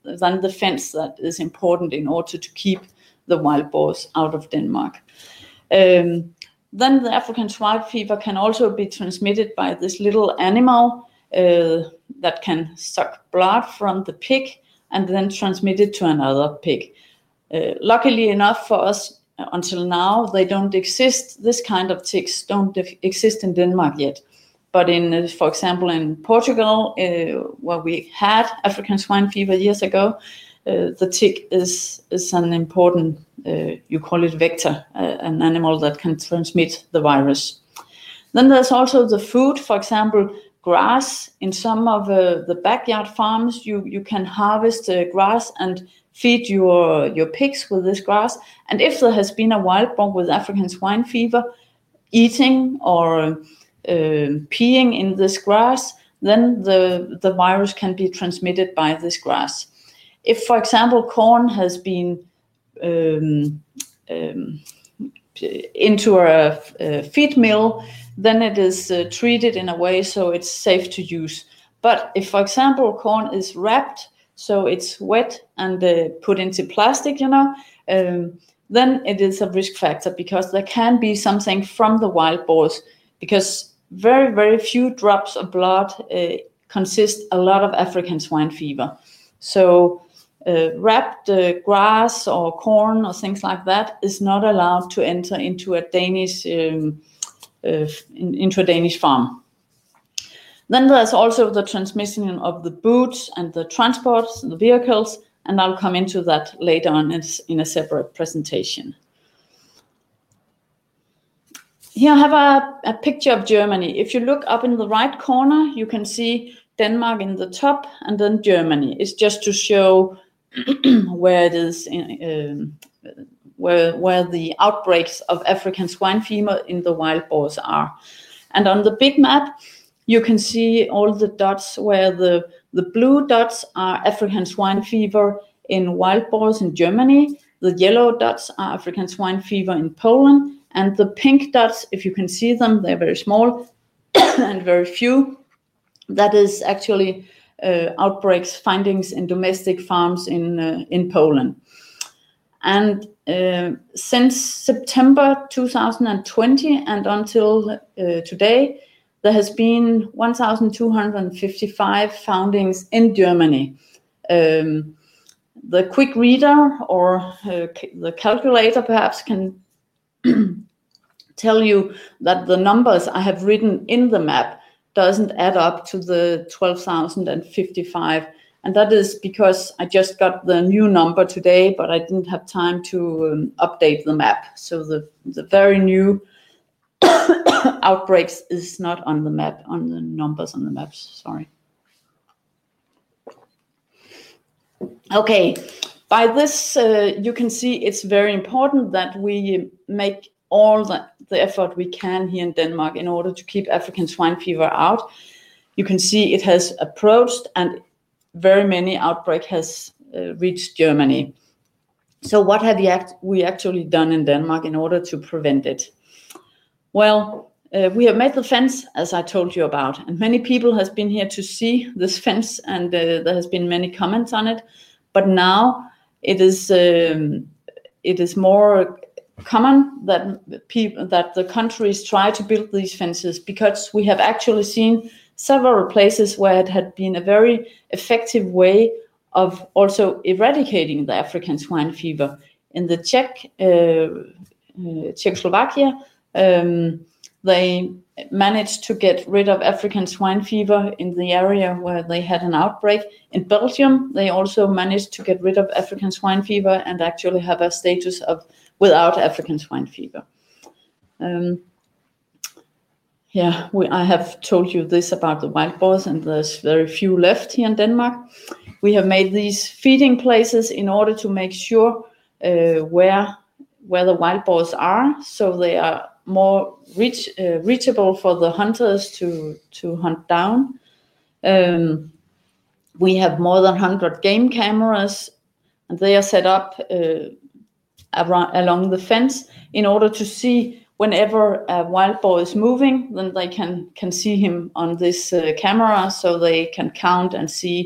than the fence that is important in order to keep the wild boars out of Denmark. Um, then the African swine fever can also be transmitted by this little animal uh, that can suck blood from the pig and then transmit it to another pig. Uh, luckily enough for us, until now, they don't exist. This kind of ticks don't exist in Denmark yet. But in, uh, for example, in Portugal, uh, where we had African swine fever years ago, uh, the tick is is an important, uh, you call it vector, uh, an animal that can transmit the virus. Then there's also the food, for example, grass. In some of uh, the backyard farms, you you can harvest uh, grass and feed your your pigs with this grass. And if there has been a wild boar with African swine fever eating or uh, peeing in this grass, then the the virus can be transmitted by this grass. If, for example, corn has been um, um, into a, a feed mill, then it is uh, treated in a way so it's safe to use. But if, for example, corn is wrapped, so it's wet and uh, put into plastic, you know, um, then it is a risk factor because there can be something from the wild boars, because very, very few drops of blood uh, consist a lot of African swine fever. So uh, wrapped uh, grass or corn or things like that is not allowed to enter into a Danish um, uh, in, into a Danish farm. Then there's also the transmission of the boots and the transports, the vehicles, and I'll come into that later on in a separate presentation. Here I have a, a picture of Germany. If you look up in the right corner, you can see Denmark in the top and then Germany. It's just to show where it is, in, um, where, where the outbreaks of African swine fever in the wild boars are. And on the big map, you can see all the dots where the, the blue dots are African swine fever in wild boars in Germany. The yellow dots are African swine fever in Poland. And the pink dots, if you can see them, they're very small and very few. That is actually uh, outbreaks, findings in domestic farms in, uh, in Poland. And uh, since September two thousand twenty and until uh, today, there has been one thousand two hundred fifty-five foundings in Germany. Um, the quick reader or uh, the calculator perhaps can tell you that the numbers I have written in the map doesn't add up to the twelve thousand fifty-five. And that is because I just got the new number today, but I didn't have time to um, update the map. So the, the very new outbreaks is not on the map, on the numbers on the maps, sorry. Okay, by this uh, you can see it's very important that we make all the, the effort we can here in Denmark in order to keep African swine fever out. You can see it has approached and very many outbreaks has uh, reached Germany. So what have we, act- we actually done in Denmark in order to prevent it? Well, uh, we have made the fence, as I told you about, and many people has been here to see this fence, and uh, there has been many comments on it. But now it is um, it is more common that people that the countries try to build these fences, because we have actually seen several places where it had been a very effective way of also eradicating the African swine fever. In the Czech, uh, uh, Czechoslovakia, um, they managed to get rid of African swine fever in the area where they had an outbreak. In Belgium, they also managed to get rid of African swine fever and actually have a status of without African swine fever. Um, yeah, we, I have told you this about the wild boars, and there's very few left here in Denmark. We have made these feeding places in order to make sure uh, where where the wild boars are, so they are more reach, uh, reachable for the hunters to, to hunt down. Um, we have more than one hundred game cameras, and they are set up uh, around, along the fence in order to see whenever a wild boar is moving, then they can, can see him on this uh, camera, so they can count and see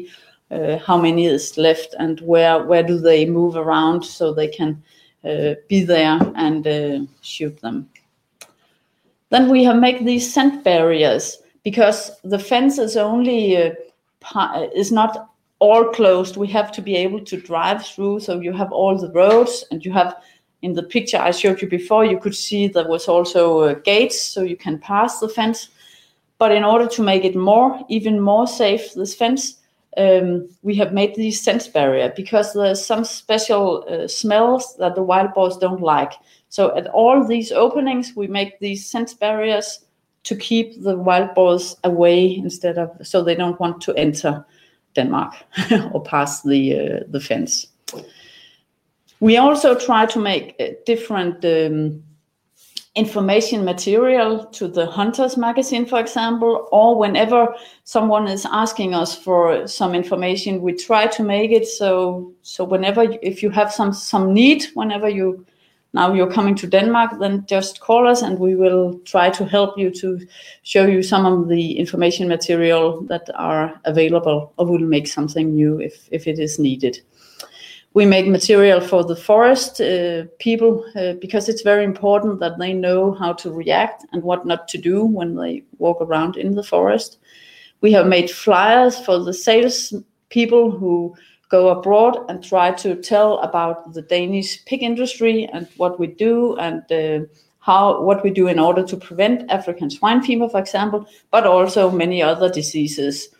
uh, how many is left and where where do they move around so they can uh, be there and uh, shoot them. Then we have made these scent barriers because the fence is only uh, is not all closed. We have to be able to drive through, so you have all the roads, and you have, in the picture I showed you before, you could see there was also uh, gates, so you can pass the fence. But in order to make it more, even more safe, this fence, um, we have made these scent barrier because there's some special uh, smells that the wild boars don't like. So at all these openings, we make these scent barriers to keep the wild boars away instead of, so they don't want to enter Denmark or pass the uh, the fence. We also try to make uh, different um, information material to the Hunters magazine, for example, or whenever someone is asking us for some information, we try to make it so so whenever, if you have some some need, whenever you now you're coming to Denmark, then just call us and we will try to help you to show you some of the information material that are available, or we'll make something new if, if it is needed. We make material for the forest uh, people uh, because it's very important that they know how to react and what not to do when they walk around in the forest. We have made flyers for the sales people who go abroad and try to tell about the Danish pig industry and what we do and uh, how what we do in order to prevent African swine fever, for example, but also many other diseases.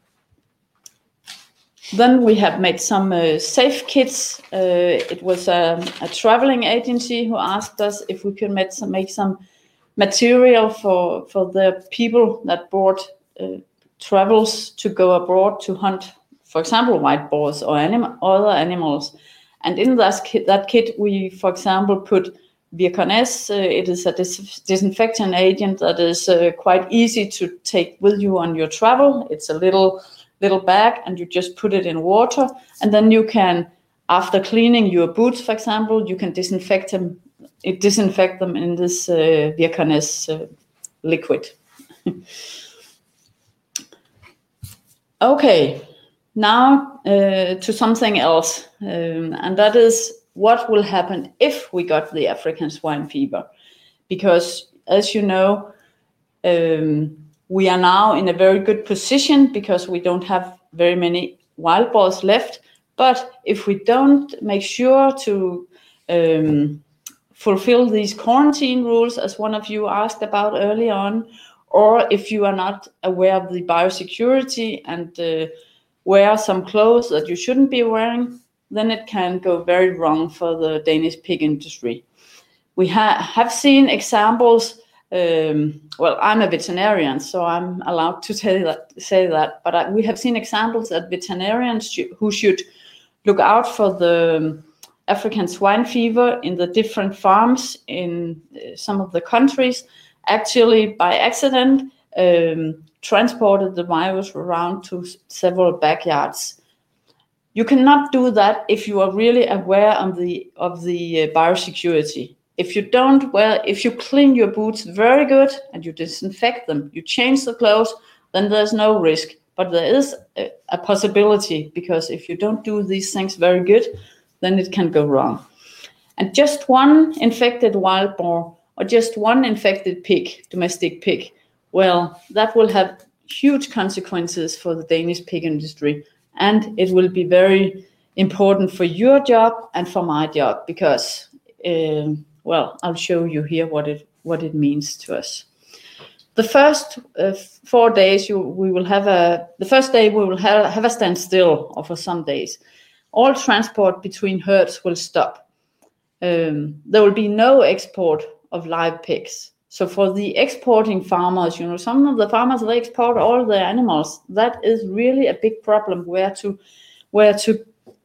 Then we have made some uh, safe kits. Uh, it was a, a traveling agency who asked us if we could make some, make some material for, for the people that bought uh, travels to go abroad to hunt, for example, white boars or anim- other animals. And in that kit, that kit, we, for example, put Virkanes. Uh, it is a dis- disinfectant agent that is uh, quite easy to take with you on your travel. It's a little little bag, and you just put it in water, and then you can, after cleaning your boots, for example, you can disinfect them. It disinfect them in this uh, Virkanes uh, liquid. Okay. Now uh, to something else, um, and that is what will happen if we got the African swine fever. Because as you know, um, we are now in a very good position because we don't have very many wild boars left. But if we don't make sure to um, fulfill these quarantine rules, as one of you asked about early on, or if you are not aware of the biosecurity and uh, wear some clothes that you shouldn't be wearing, then it can go very wrong for the Danish pig industry. We ha- have seen examples. Um, well, I'm a veterinarian, so I'm allowed to say that. Say that. But I, we have seen examples that veterinarians sh- who should look out for the African swine fever in the different farms in uh, some of the countries, actually by accident um, transported the virus around to several backyards. You cannot do that if you are really aware of the of the uh, biosecurity. If you don't wear, if you clean your boots very good and you disinfect them, you change the clothes, then there's no risk. But there is a, a possibility, because if you don't do these things very good, then it can go wrong. And just one infected wild boar or just one infected pig, domestic pig, well, that will have huge consequences for the Danish pig industry. And it will be very important for your job and for my job, because, uh, well, I'll show you here what it what it means to us. The first uh, four days, you, we will have a. The first day we will have, have a standstill, or for some days, all transport between herds will stop. Um, there will be no export of live pigs. So for the exporting farmers, you know, some of the farmers, they export all their animals. That is really a big problem, where to, where to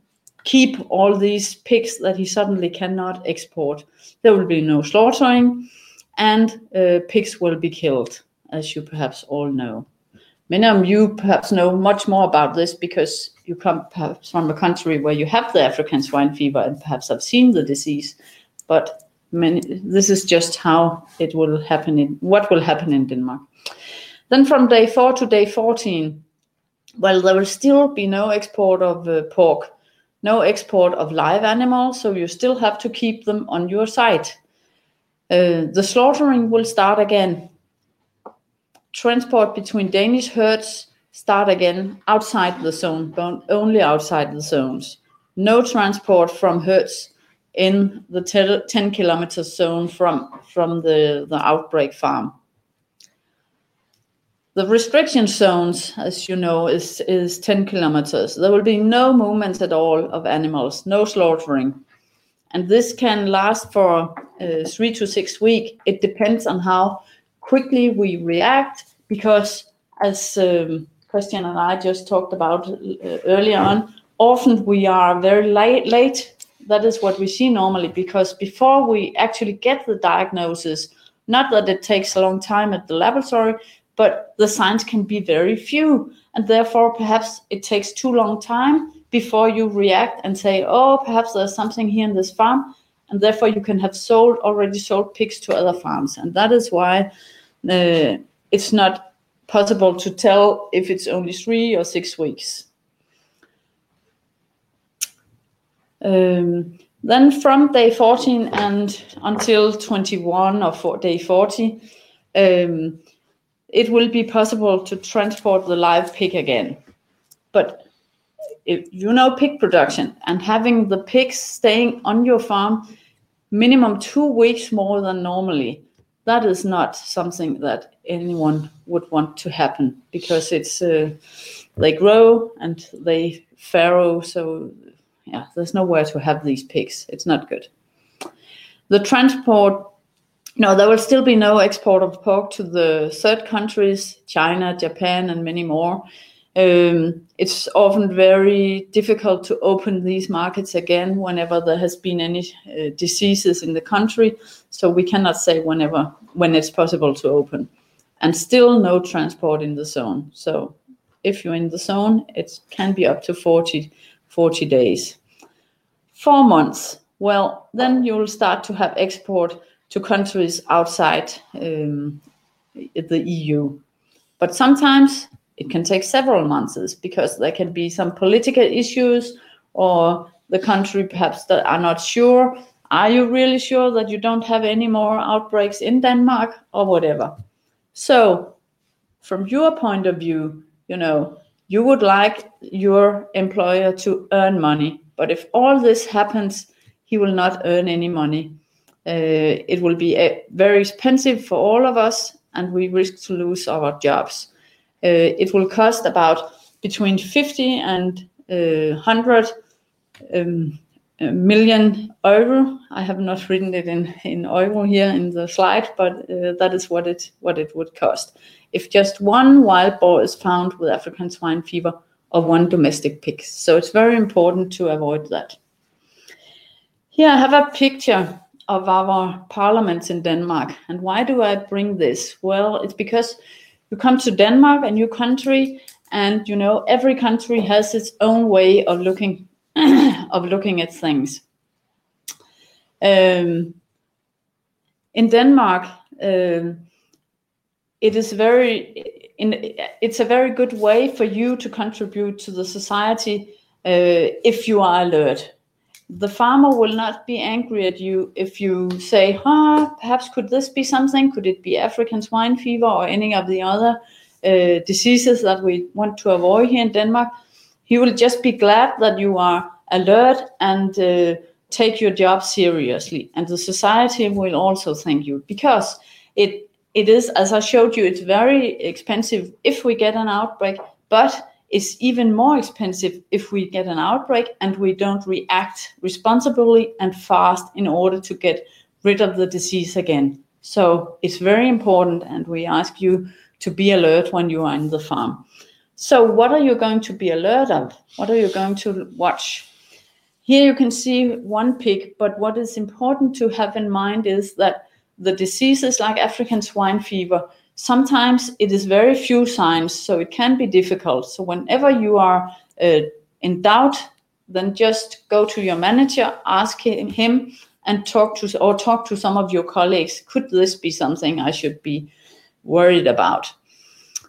keep all these pigs that he suddenly cannot export. There will be no slaughtering, and uh, pigs will be killed, as you perhaps all know. Many of you perhaps know much more about this because you come perhaps from a country where you have the African swine fever and perhaps have seen the disease. But many, this is just how it will happen in what will happen in Denmark. Then from day four to day fourteen, Well, there will still be no export of uh, pork, no export of live animals, so you still have to keep them on your site. Uh, the slaughtering will start again. Transport between Danish herds start again outside the zone, but only outside the zones. No transport from herds in the ten kilometer zone from, from the, the outbreak farm. The restriction zones, as you know, is, is ten kilometers. There will be no movements at all of animals, no slaughtering. And this can last for uh, three to six weeks. It depends on how quickly we react, because as um, Christian and I just talked about uh, earlier on, often we are very late, late. That is what we see normally, because before we actually get the diagnosis, not that it takes a long time at the laboratory, but the signs can be very few, and therefore perhaps it takes too long time before you react and say, oh, perhaps there's something here in this farm, and therefore you can have sold already sold pigs to other farms. And that is why uh, it's not possible to tell if it's only three or six weeks. Um, then from day fourteen and until twenty-one or for day forty, um, it will be possible to transport the live pig again. But if you know pig production and having the pigs staying on your farm minimum two weeks more than normally, that is not something that anyone would want to happen, because it's uh, they grow and they farrow, so yeah, there's nowhere to have these pigs. It's not good. The transport, no, there will still be no export of pork to the third countries, China, Japan, and many more. Um, it's often very difficult to open these markets again whenever there has been any uh, diseases in the country. So we cannot say whenever, when it's possible to open. And still no transport in the zone. So if you're in the zone, it can be up to forty, forty days. Four months. Well, then you'll start to have export to countries outside um, the E U. But sometimes it can take several months, because there can be some political issues, or the country perhaps that are not sure. Are you really sure that you don't have any more outbreaks in Denmark, or whatever? So from your point of view, you know, you would like your employer to earn money. But if all this happens, he will not earn any money. Uh, it will be uh, very expensive for all of us, and we risk to lose our jobs. Uh, it will cost about between fifty and uh, one hundred um, million euro. I have not written it in, in euro here in the slide, but uh, that is what it what it would cost if just one wild boar is found with African swine fever, or one domestic pig. So it's very important to avoid that. Here I have a picture of our parliaments in Denmark. And why do I bring this? Well, it's because you come to Denmark, a new country, and you know every country has its own way of looking of looking at things. Um, in Denmark, um, it is very in, it's a very good way for you to contribute to the society uh, if you are alert. The farmer will not be angry at you if you say, huh, perhaps could this be something? Could it be African swine fever or any of the other uh, diseases that we want to avoid here in Denmark? He will just be glad that you are alert and uh, take your job seriously. And the society will also thank you, because it it is, as I showed you, it's very expensive if we get an outbreak, but it's even more expensive if we get an outbreak and we don't react responsibly and fast in order to get rid of the disease again. So it's very important, and we ask you to be alert when you are in the farm. So what are you going to be alert of? What are you going to watch? Here you can see one pig, but what is important to have in mind is that the diseases like African swine fever, sometimes it is very few signs, so it can be difficult. So whenever you are uh, in doubt, then just go to your manager, ask him, and talk to or talk to some of your colleagues. Could this be something I should be worried about?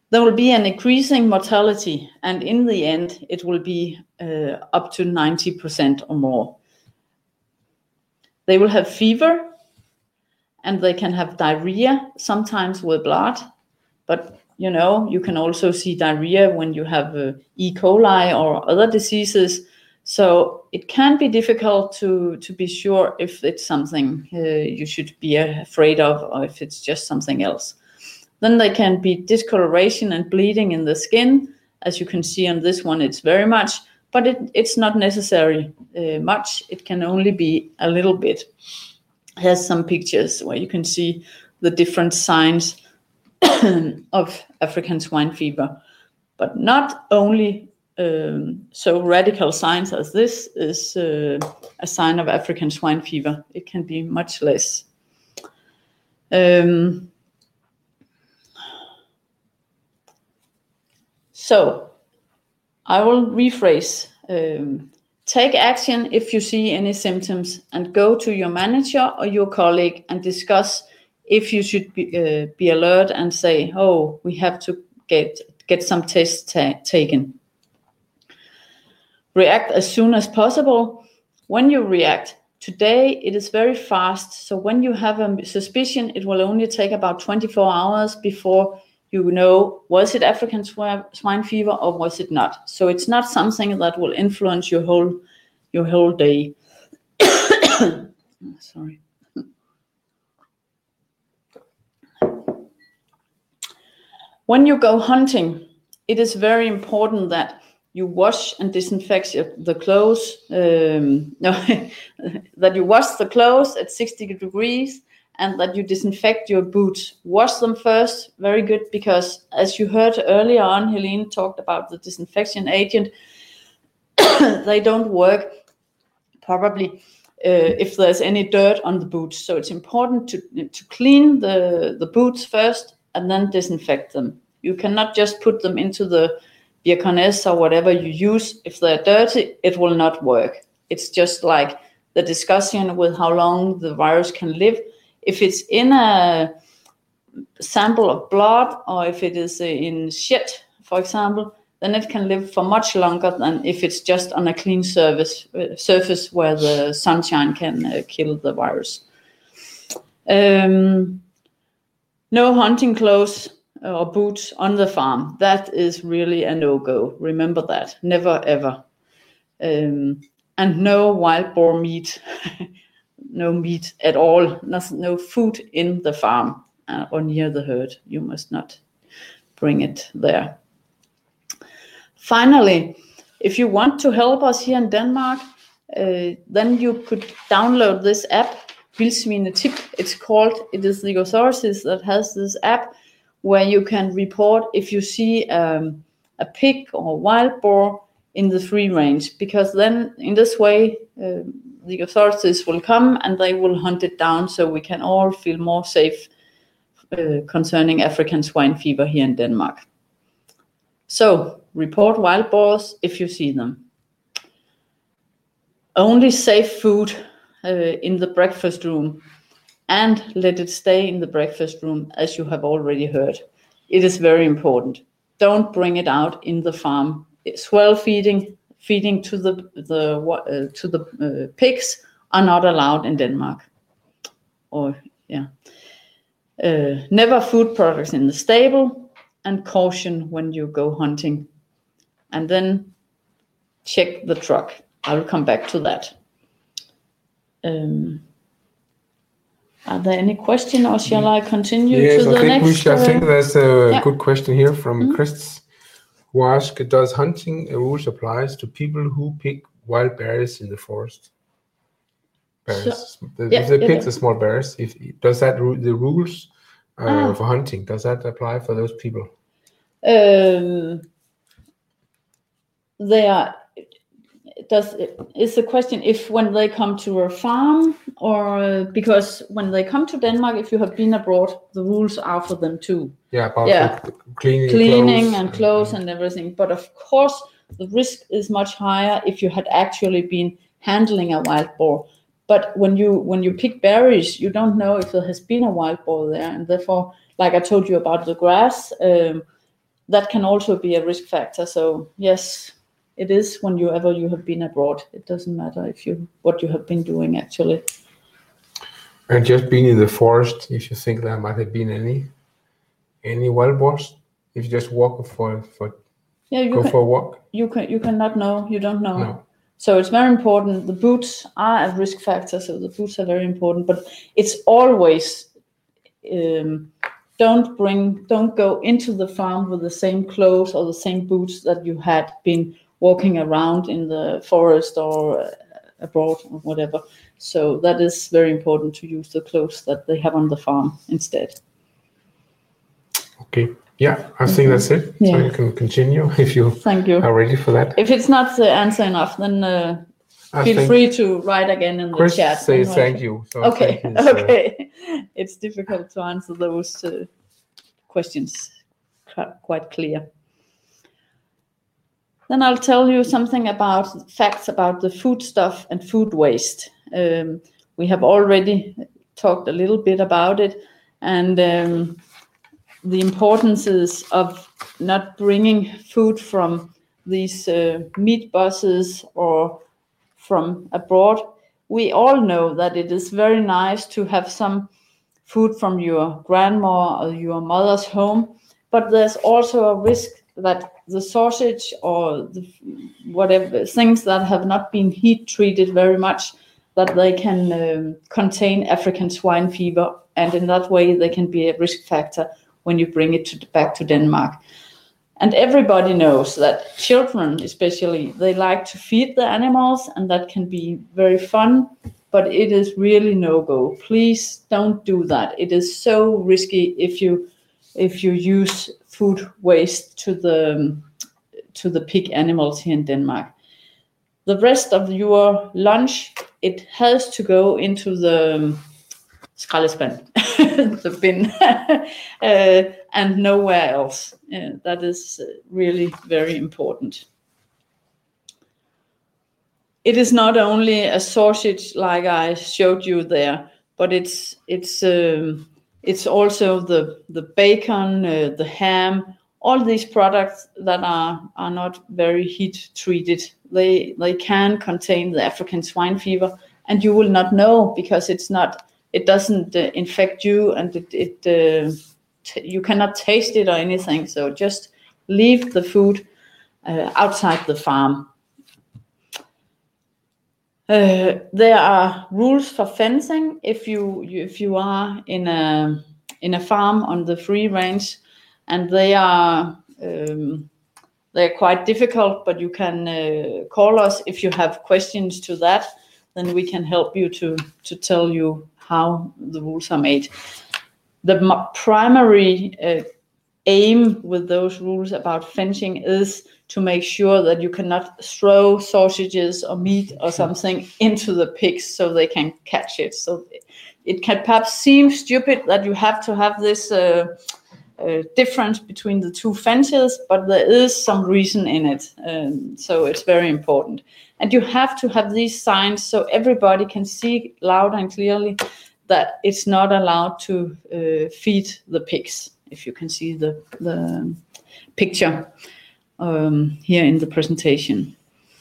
there will be an increasing mortality, and in the end, it will be uh, up to ninety percent or more. They will have fever, and they can have diarrhea, sometimes with blood, but you know, you can also see diarrhea when you have uh, E. coli or other diseases. So it can be difficult to, to be sure if it's something uh, you should be afraid of or if it's just something else. Then there can be discoloration and bleeding in the skin. As you can see on this one, it's very much, but it, it's not necessary uh, much. It can only be a little bit. Here's some pictures where you can see the different signs of African swine fever, but not only um, so radical signs as this is uh, a sign of African swine fever. It can be much less. Um, so I will rephrase. Um, take action if you see any symptoms, and go to your manager or your colleague and discuss if you should be, uh, be alert and say, oh, we have to get, get some tests ta- taken. React as soon as possible. When you react, today it is very fast. So when you have a suspicion, it will only take about twenty-four hours before you know, was it African swine fever or was it not? So it's not something that will influence your whole, your whole day. Sorry. When you go hunting, it is very important that you wash and disinfect the clothes, um, no, that you wash the clothes at sixty degrees and that you disinfect your boots. Wash them first, very good, because as you heard earlier on, Helene talked about the disinfection agent. They don't work probably uh, if there's any dirt on the boots. So it's important to, to clean the, the boots first and then disinfect them. You cannot just put them into the Bioconess or whatever you use. If they're dirty, it will not work. It's just like the discussion with how long the virus can live. If it's in a sample of blood or if it is in shit, for example, then it can live for much longer than if it's just on a clean surface, uh, surface where the sunshine can uh, kill the virus. Um, no hunting clothes or boots on the farm. That is really a no-go. Remember that. Never, ever. Um, and no wild boar meat. No meat at all. No, no food in the farm uh, or near the herd. You must not bring it there. Finally, if you want to help us here in Denmark, uh, then you could download this app, Vildsvinetip, it's called. It is the authorities that has this app where you can report if you see um, a pig or wild boar in the free range, because then in this way uh, the authorities will come and they will hunt it down so we can all feel more safe uh, concerning African swine fever here in Denmark. So report wild boars if you see them. Only safe food uh, in the breakfast room, and let it stay in the breakfast room, as you have already heard. It is very important. Don't bring it out in the farm. Swell feeding, feeding to the the uh, to the uh, pigs are not allowed in Denmark. Or yeah, uh, never food products in the stable, and caution when you go hunting. And then check the truck. I will come back to that. Um, Are there any questions, or shall I continue yes, to the I think next? We should, uh, I think there's a yeah. good question here from mm-hmm. Chris, who asks, does hunting rules applies to people who pick wild berries in the forest? Berries. So, the, yeah, if they pick yeah. the small berries, if does that the rules uh, ah. for hunting, does that apply for those people? Um, they are. Does is the question if when they come to a farm, or uh, because when they come to Denmark, if you have been abroad, the rules are for them too. Yeah, about yeah. the cleaning, cleaning clothes and clothes and, and everything. But of course, the risk is much higher if you had actually been handling a wild boar. But when you when you pick berries, you don't know if there has been a wild boar there, and therefore, like I told you about the grass. Um, that can also be a risk factor. So yes, it is whenever you have been abroad. It doesn't matter if you what you have been doing actually. And just being in the forest, if you think there might have been any any wild boars, if you just walk for for yeah, you go can, for a walk. You can you cannot know. You don't know. No. So it's very important. The boots are a risk factor, so the boots are very important. But it's always um, don't bring, don't go into the farm with the same clothes or the same boots that you had been walking around in the forest or uh, abroad or whatever. So that is very important to use the clothes that they have on the farm instead. Okay. Yeah, I think that's it. Yeah. So you can continue if you, Thank you. are ready for that. If it's not the answer enough, then uh, feel free to write again in the Chris chat. Say thank you. So okay, thank you, okay. It's difficult to answer those uh, questions quite clear. Then I'll tell you something about facts about the food stuff and food waste. Um, we have already talked a little bit about it, and um, the importance of not bringing food from these uh, meat buses or from abroad. We all know that it is very nice to have some food from your grandma or your mother's home, but there's also a risk that the sausage or the whatever things that have not been heat treated very much, that they can um, contain African swine fever, and in that way they can be a risk factor when you bring it to, back to Denmark. And everybody knows that children especially, they like to feed the animals, and that can be very fun, but it is really no-go. Please don't do that. It is so risky if you if you use food waste to the to the pig animals here in Denmark. The rest of your lunch, it has to go into the skraldespand, the bin, uh, and nowhere else. Uh, that is really very important. It is not only a sausage like I showed you there, but it's it's um, it's also the the bacon, uh, the ham, all these products that are are not very heat treated. They they can contain the African swine fever, and you will not know because it's not. It doesn't uh, infect you, and it, it uh, t- you cannot taste it or anything. So just leave the food uh, outside the farm. Uh, there are rules for fencing if you, you if you are in a in a farm on the free range, and they are um, they are quite difficult. But you can uh, call us if you have questions to that. Then we can help you to to tell you how the rules are made. The m- primary uh, aim with those rules about fencing is to make sure that you cannot throw sausages or meat or something into the pigs so they can catch it. So it can perhaps seem stupid that you have to have this uh, uh, difference between the two fences, but there is some reason in it. Um, so it's very important. And you have to have these signs so everybody can see loud and clearly that it's not allowed to uh, feed the pigs. If you can see the, the picture um, here in the presentation.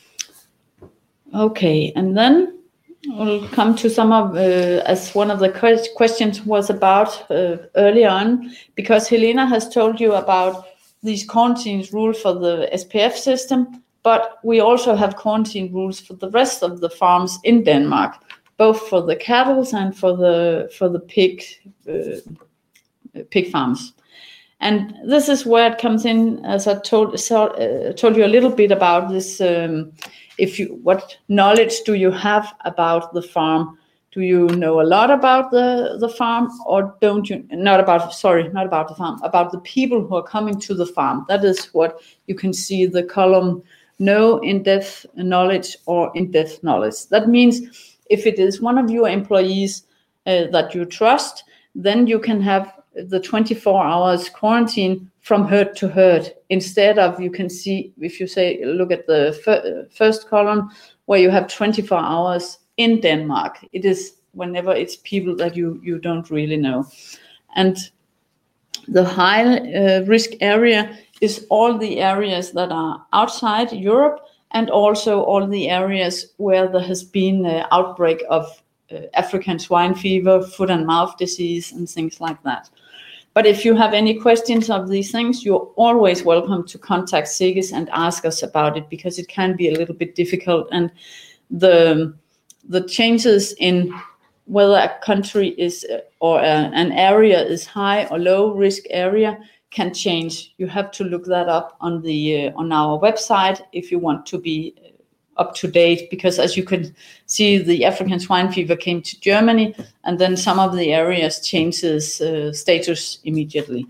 Okay, and then we'll come to some of, uh, as one of the que- questions was about uh, early on, because Helena has told you about these quarantine rules for the S P F system, but we also have quarantine rules for the rest of the farms in Denmark, both for the cattle and for the for the pig uh, pig farms. And this is where it comes in, as I told so, uh, told you a little bit about this. Um, if you, what knowledge do you have about the farm? Do you know a lot about the, the farm, or don't you? Not about, sorry, not about the farm, about the people who are coming to the farm. That is what you can see the column, no in-depth knowledge or in-depth knowledge. That means if it is one of your employees uh, that you trust, then you can have the twenty-four hours quarantine from herd to herd, instead of, you can see, if you say, look at the fir- first column where you have twenty-four hours in Denmark. It is whenever it's people that you, you don't really know. And the high uh, risk area is all the areas that are outside Europe and also all the areas where there has been an outbreak of uh, African swine fever, foot and mouth disease, and things like that. But if you have any questions of these things, you're always welcome to contact SEGES and ask us about it, because it can be a little bit difficult, and the the changes in whether a country is or a, an area is high or low risk area can change. You have to look that up on the uh, on our website if you want to be up to date, because as you can see, the African swine fever came to Germany, and then some of the areas changes uh, status immediately.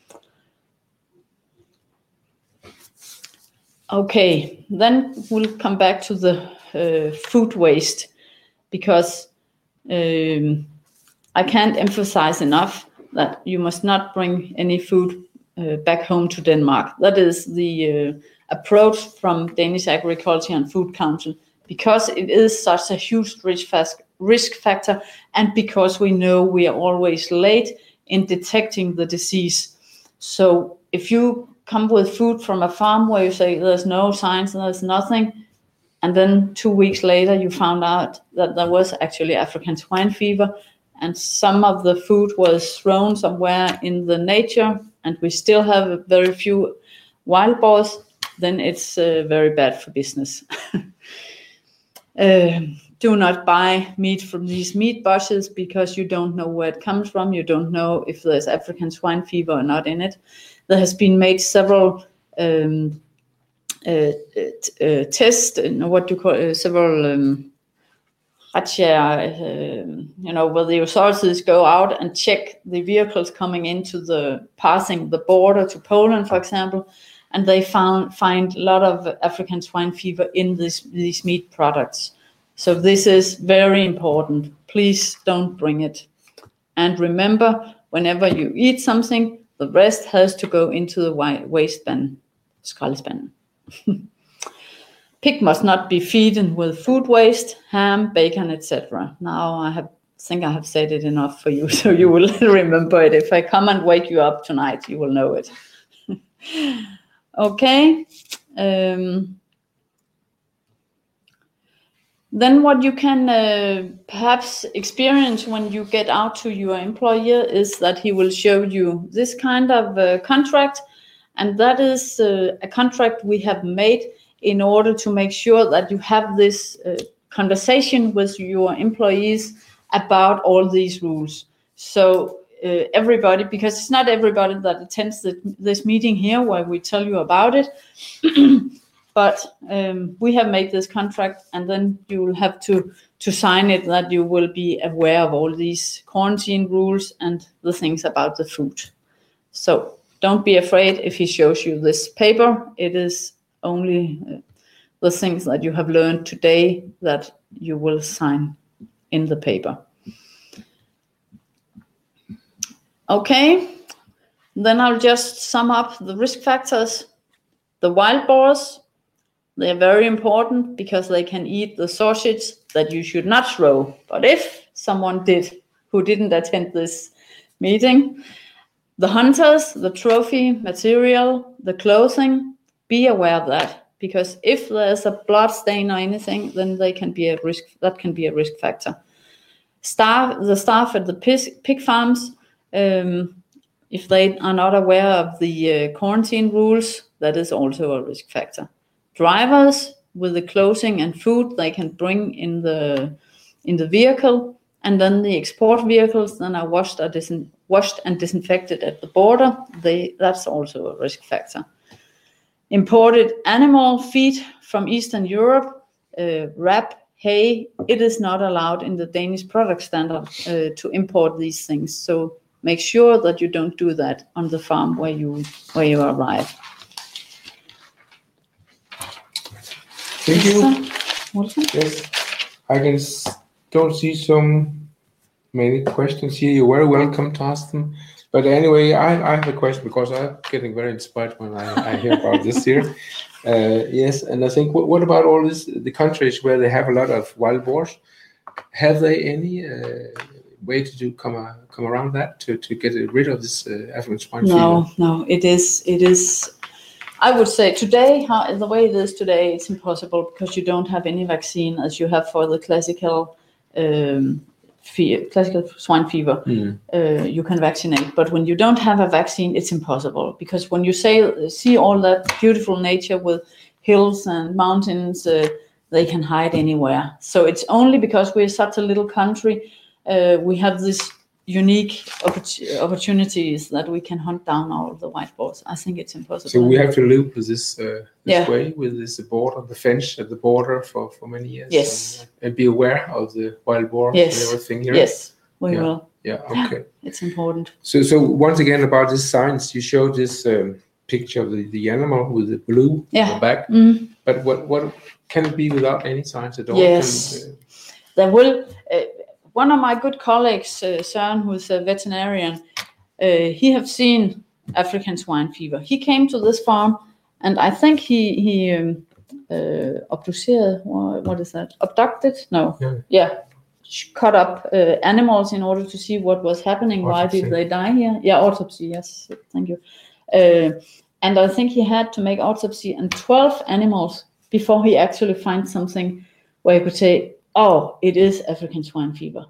Okay, then we'll come back to the uh, food waste, because um, I can't emphasize enough that you must not bring any food uh, back home to Denmark. That is the uh, approach from Danish Agriculture and Food Council, because it is such a huge risk, fast, risk factor, and because we know we are always late in detecting the disease. So if you come with food from a farm where you say there's no signs, there's nothing, and then two weeks later you found out that there was actually African swine fever, and some of the food was thrown somewhere in the nature, and we still have very few wild boars, then it's uh, very bad for business. uh, do not buy meat from these meat bushes, because you don't know where it comes from. You don't know if there's African swine fever or not in it. There has been made several um, uh, uh, tests, what do you call it, several um, uh, you know, where the authorities go out and check the vehicles coming into the, passing the border to Poland, for example, and they found find a lot of African swine fever in this, these meat products. So this is very important. Please don't bring it. And remember, whenever you eat something, the rest has to go into the waste bin, skraldespanden. Pig must not be feeding with food waste, ham, bacon, et cetera. Now I have think I have said it enough for you, so you will remember it. If I come and wake you up tonight, you will know it. Okay. Um, then what you can uh, perhaps experience when you get out to your employer is that he will show you this kind of uh, contract, and that is uh, a contract we have made in order to make sure that you have this uh, conversation with your employees about all these rules. So uh, everybody, because it's not everybody that attends the, this meeting here where we tell you about it, but um, we have made this contract, and then you will have to, to sign it, that you will be aware of all these quarantine rules and the things about the food. So don't be afraid if he shows you this paper. It is only uh, the things that you have learned today that you will sign in the paper. Okay, then I'll just sum up the risk factors. The wild boars, they're very important because they can eat the sausage that you should not throw. But if someone did who didn't attend this meeting, the hunters, the trophy material, the clothing, be aware of that, because if there's a blood stain or anything, then they can be a risk. That can be a risk factor. Staff, the staff at the pig, pig farms, um, if they are not aware of the uh, quarantine rules, that is also a risk factor. Drivers with the clothing and food they can bring in the in the vehicle, and then the export vehicles then are washed or disin- washed and disinfected at the border. They that's also a risk factor. Imported animal feed from Eastern Europe, uh, wrap, hay, it is not allowed in the Danish product standard uh, to import these things. So make sure that you don't do that on the farm where you where you arrive. Thank you. Wilson? Yes, I can s- don't see so many questions here. You're very welcome to ask them. But anyway, I, I have a question, because I'm getting very inspired when I, I hear about this here. Uh, yes, and I think, what, what about all this, the countries where they have a lot of wild boars? Have they any uh, way to do come uh, come around that to, to get rid of this uh, African swine fever? No, no. It is it is I would say today, how, the way it is today, it's impossible because you don't have any vaccine as you have for the classical um, fe- classical swine fever. Mm. Uh, you can vaccinate, but when you don't have a vaccine, it's impossible because when you say see all that beautiful nature with hills and mountains, uh, they can hide anywhere. So it's only because we're such a little country, uh, we have this unique oppor- opportunities that we can hunt down all the white boars. I think it's impossible. So we have to live with this uh, this yeah. way, with this border, the fence at the border for, for many years. Yes. And, uh, and be aware of the wild boars yes. and everything here. Yes, we yeah. will. Yeah, okay. It's important. So so once again about this science, you showed this um, picture of the, the animal with the blue yeah. on the back. Mm. But what, what can it be without any science at all? Yes. Can, uh, there will... Uh, One of my good colleagues, uh, Søren, who's a veterinarian, uh, he have seen African swine fever. He came to this farm, and I think he he um, uh, obducted, what is that? Abducted? No. Yeah. yeah. Cut up uh, animals in order to see what was happening. Autopsy. Why did they die here? Yeah, autopsy. Yes, thank you. Uh, and I think he had to make autopsy on twelve animals before he actually finds something where he could say, oh, it is African swine fever.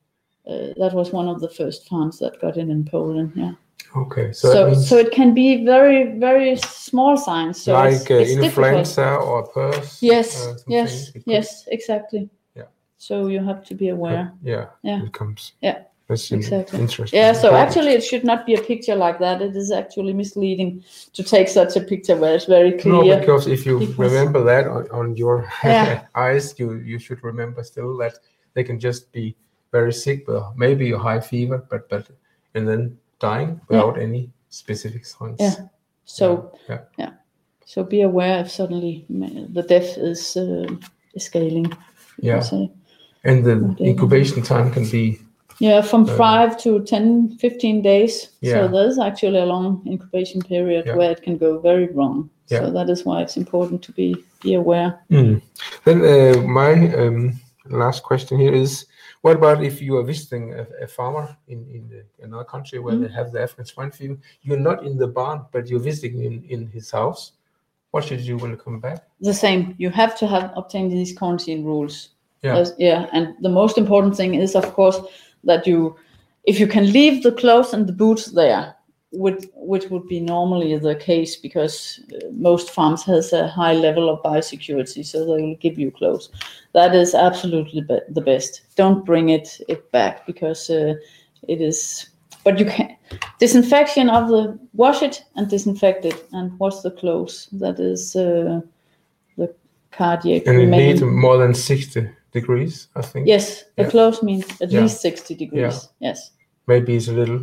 Uh, that was one of the first farms that got in in Poland. Yeah. Okay. So So, means so it can be very, very small signs. So like it's, uh, it's influenza difficult. or PRRS. Yes. Uh, yes. Yes. Exactly. Yeah. So you have to be aware. Yeah. Yeah. It comes. Yeah. That's exactly. interesting. Yeah. So Important. actually, it should not be a picture like that. It is actually misleading to take such a picture where it's very clear. No, because if you because, remember that on, on your yeah. eyes, you you should remember still that they can just be very sick, but maybe a high fever, but but and then dying without yeah. any specific signs. Yeah. So yeah. yeah. yeah. So be aware if suddenly the death is uh, scaling. Yeah. And the okay. incubation time can be. Yeah, from uh, five to ten, fifteen days. Yeah. So there's actually a long incubation period yeah. where it can go very wrong. Yeah. So that is why it's important to be be aware. Mm. Then uh, my um, last question here is, what about if you are visiting a, a farmer in, in the, another country where mm. they have the African swine fever? You're not in the barn, but you're visiting in, in his house. What should you do when you come back? The same. You have to have obtained these quarantine rules. Yeah. As, yeah. And the most important thing is, of course, that you, if you can leave the clothes and the boots there, which, which would be normally the case because uh, most farms has a high level of biosecurity, so they will give you clothes. That is absolutely be- the best. Don't bring it, it back because uh, it is, but you can, disinfection of the, wash it and disinfect it and wash the clothes. That is uh, the cardiac. And it remain. needs more than sixty degrees, I think. Yes, the yeah. clothes means at yeah. least sixty degrees. Yeah. Yes. Maybe it's a little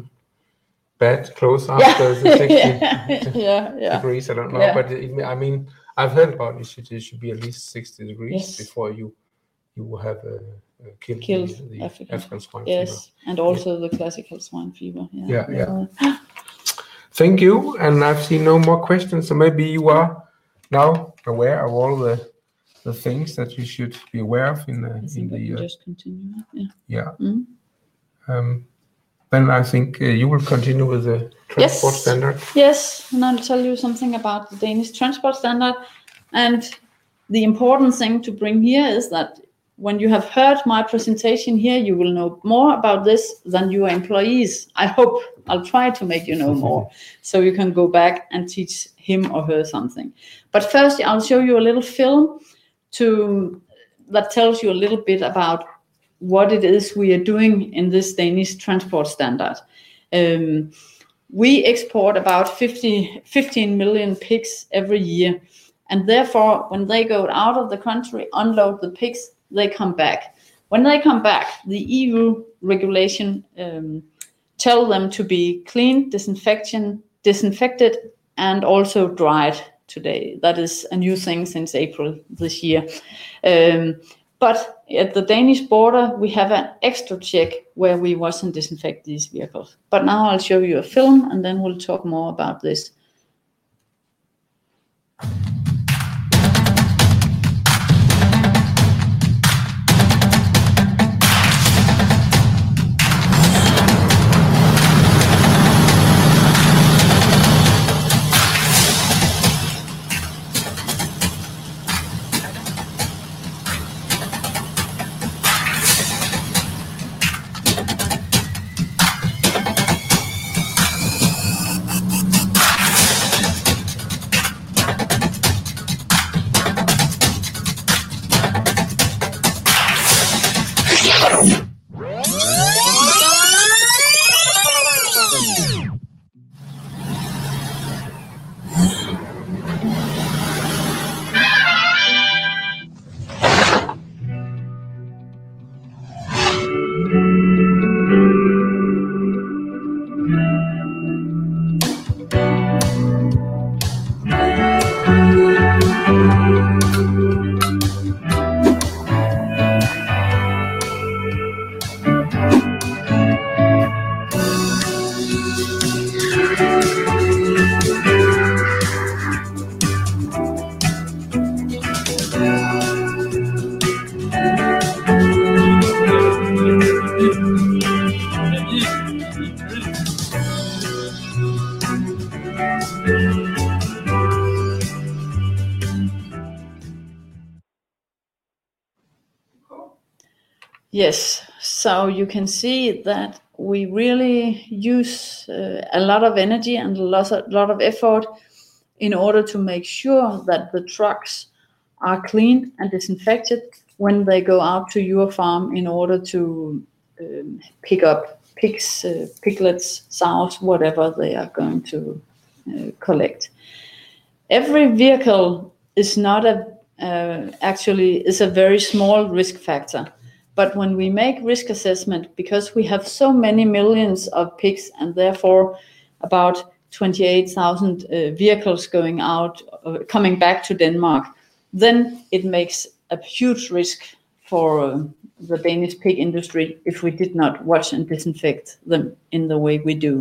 bad clothes after yeah. the sixty yeah, yeah. degrees. I don't know, yeah. but it, I mean, I've heard about it. Should, it should be at least sixty degrees yes. before you you have uh, uh, killed, killed the, the African. African swine yes. fever. And also yeah. the classical swine fever. Yeah, yeah. yeah. Thank you. And I've seen no more questions. So maybe you are now aware of all the the things that you should be aware of in the in the. Uh, just continue. Yeah. Yeah. Mm-hmm. Um, then I think uh, you will continue with the transport yes. standard. Yes, and I'll tell you something about the Danish transport standard. And the important thing to bring here is that when you have heard my presentation here, you will know more about this than your employees. I hope. I'll try to make you know more, so you can go back and teach him or her something. But first, I'll show you a little film to that tells you a little bit about what it is we are doing in this Danish transport standard. Um, we export about fifty, fifteen million pigs every year, and therefore, when they go out of the country, unload the pigs, they come back. When they come back, the E U regulation um, tell them to be cleaned, disinfection, disinfected, and also dried today. That is a new thing since April this year. Um, but at the Danish border, we have an extra check where we wash and disinfect these vehicles. But now I'll show you a film, and then we'll talk more about this. Yes, so you can see that we really use uh, a lot of energy and a lot of, lot of effort in order to make sure that the trucks are clean and disinfected when they go out to your farm in order to um, pick up pigs, uh, piglets, sows, whatever they are going to uh, collect. Every vehicle is not a uh, actually is a very small risk factor. But when we make risk assessment, because we have so many millions of pigs and therefore about twenty-eight thousand uh, vehicles going out, uh, coming back to Denmark, then it makes a huge risk for uh, the Danish pig industry if we did not wash and disinfect them in the way we do.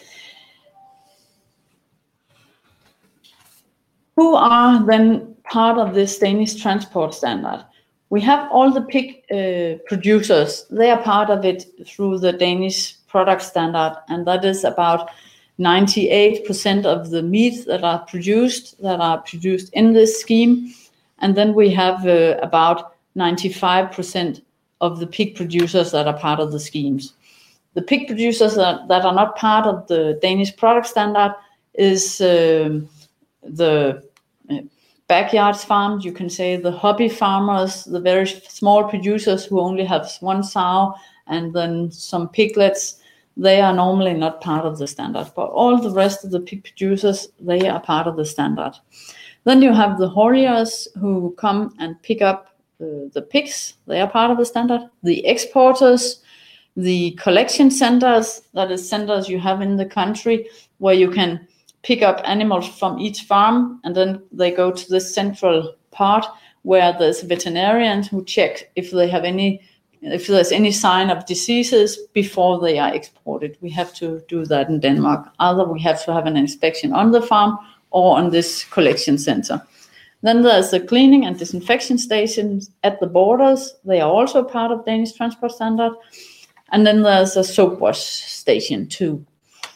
Who are then part of this Danish transport standard? We have all the pig uh, producers. They are part of it through the Danish product standard, and that is about ninety-eight percent of the meat that are produced, that are produced in this scheme. And then we have uh, about ninety-five percent of the pig producers that are part of the schemes. The pig producers that, that are not part of the Danish product standard is uh, the uh, backyards farms, you can say the hobby farmers, the very small producers who only have one sow and then some piglets. They are normally not part of the standard, but all the rest of the pig producers, they are part of the standard. Then you have the hauliers who come and pick up uh, the pigs. They are part of the standard. The exporters, the collection centers, that is centers you have in the country where you can pick up animals from each farm, and then they go to the central part where there's veterinarians who check if they have any, if there's any sign of diseases before they are exported. We have to do that in Denmark. Either we have to have an inspection on the farm or on this collection center. Then there's the cleaning and disinfection stations at the borders. They are also part of Danish transport standard. And then there's a soap wash station too.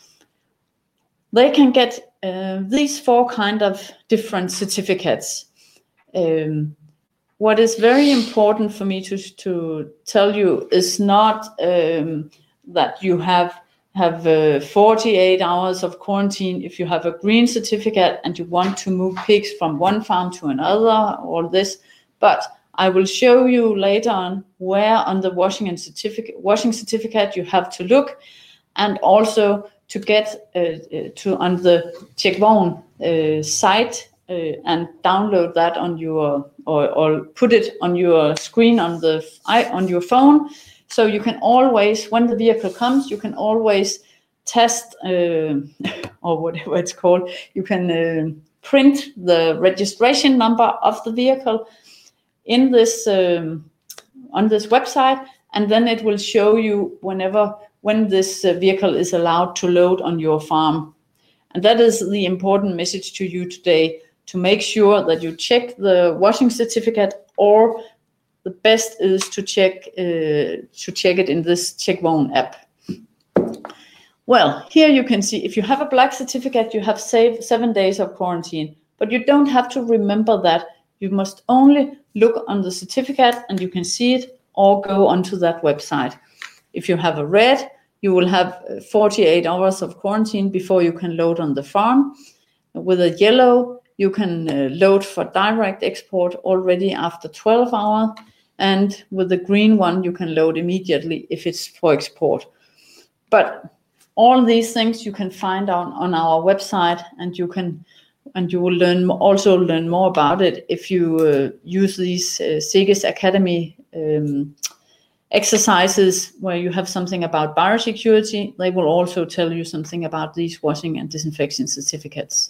They can get uh, these four kind of different certificates. Um, what is very important for me to, to tell you is not um, that you have have uh, forty-eight hours of quarantine if you have a green certificate and you want to move pigs from one farm to another, all this. But I will show you later on where on the washing and certificate washing certificate you have to look, and also to get uh, to on the Tjekvogn uh, site uh, and download that on your or, or put it on your screen on the on your phone, so you can always, when the vehicle comes, you can always test uh, or whatever it's called. You can uh, print the registration number of the vehicle in this um, on this website, and then it will show you whenever. when this uh, vehicle is allowed to load on your farm. And that is the important message to you today, to make sure that you check the washing certificate, or the best is to check uh, to check it in this Tjekvogn app. Well, here you can see if you have a black certificate, you have saved seven days of quarantine, but you don't have to remember that. You must only look on the certificate and you can see it, or go onto that website. If you have a red, you will have forty-eight hours of quarantine before you can load on the farm. With a yellow, you can uh, load for direct export already after twelve hours. and with the green one you can load immediately if it's for export. But all these things you can find on, on our website, and you can and you will learn also learn more about it if you uh, use these uh, Seges Academy um, exercises where you have something about biosecurity. They will also tell you something about these washing and disinfection certificates.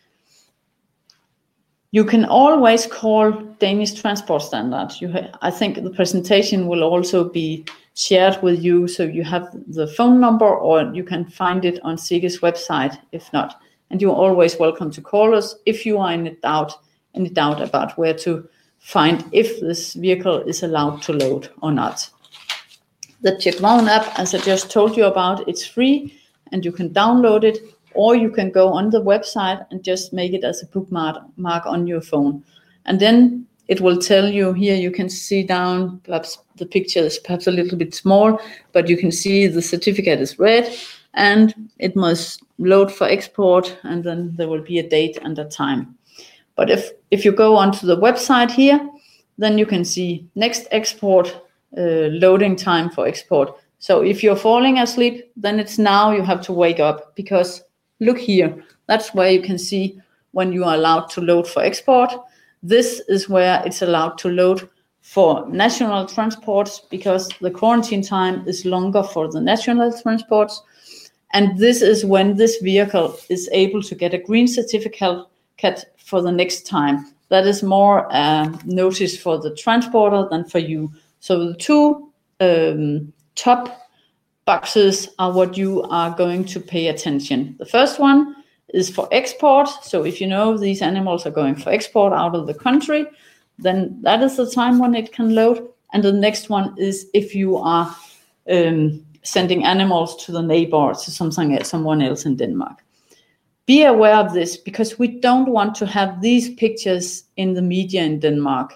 You can always call Danish Transport Standard. You ha- I think the presentation will also be shared with you, so you have the phone number, or you can find it on Seges website if not. And you're always welcome to call us if you are in a doubt, any doubt about where to find if this vehicle is allowed to load or not. The CheckVogn app, as I just told you about, it's free and you can download it, or you can go on the website and just make it as a bookmark mark on your phone. And then it will tell you here, you can see down, perhaps the picture is perhaps a little bit small, but you can see the certificate is red and it must load for export, and then there will be a date and a time. But if, if you go onto the website here, then you can see next export, uh, loading time for export. So if you're falling asleep, then it's now you have to wake up, because look here, that's where you can see when you are allowed to load for export. This is where it's allowed to load for national transports, because the quarantine time is longer for the national transports. And this is when this vehicle is able to get a green certificate for the next time. That is more uh, notice for the transporter than for you. So the two um, top boxes are what you are going to pay attention. The first one is for export. So if you know these animals are going for export out of the country, then that is the time when it can load. And the next one is if you are um, sending animals to the neighbor, to something, someone else in Denmark. Be aware of this, because we don't want to have these pictures in the media in Denmark.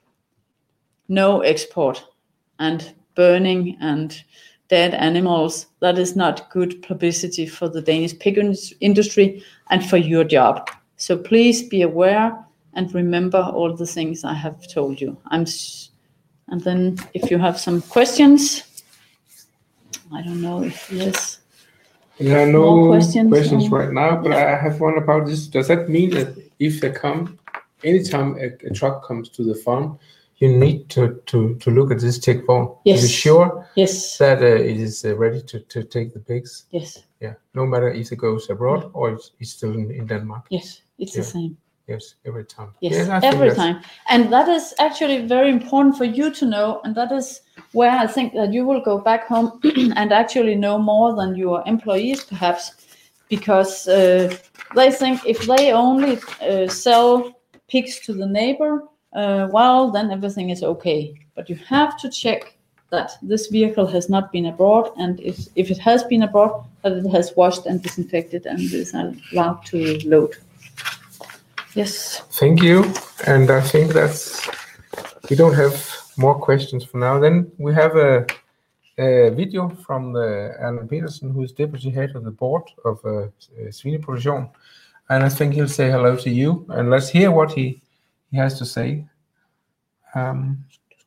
No export and burning and dead animals. That is not good publicity for the Danish pig industry and for your job. So please be aware and remember all the things I have told you. I'm, and then if you have some questions, I don't know if there's There are no more questions, questions or, right now, but yeah. I have one about this. Does that mean that if they come, anytime a, a truck comes to the farm, you need to, to, to look at this CheckVogn Yes. to be sure Yes. that uh, it is uh, ready to, to take the pigs? Yes. Yeah, no matter if it goes abroad yeah. or it's, it's still in, in Denmark? Yes, it's yeah. the same. Yes, every time. Yes, yes every time. And that is actually very important for you to know. And that is where I think that you will go back home and actually know more than your employees, perhaps, because uh, they think if they only uh, sell pigs to the neighbor, uh, well, then everything is okay. But you have to check that this vehicle has not been abroad, and if, if it has been abroad, that it has washed and disinfected and is allowed to load. Yes. Thank you. And I think that's, we don't have more questions for now. Then we have a, a video from the Alan Petersen, who is deputy head of the board of uh, Svineproduktion. And I think he'll say hello to you. And let's hear what he, he has to say. Um,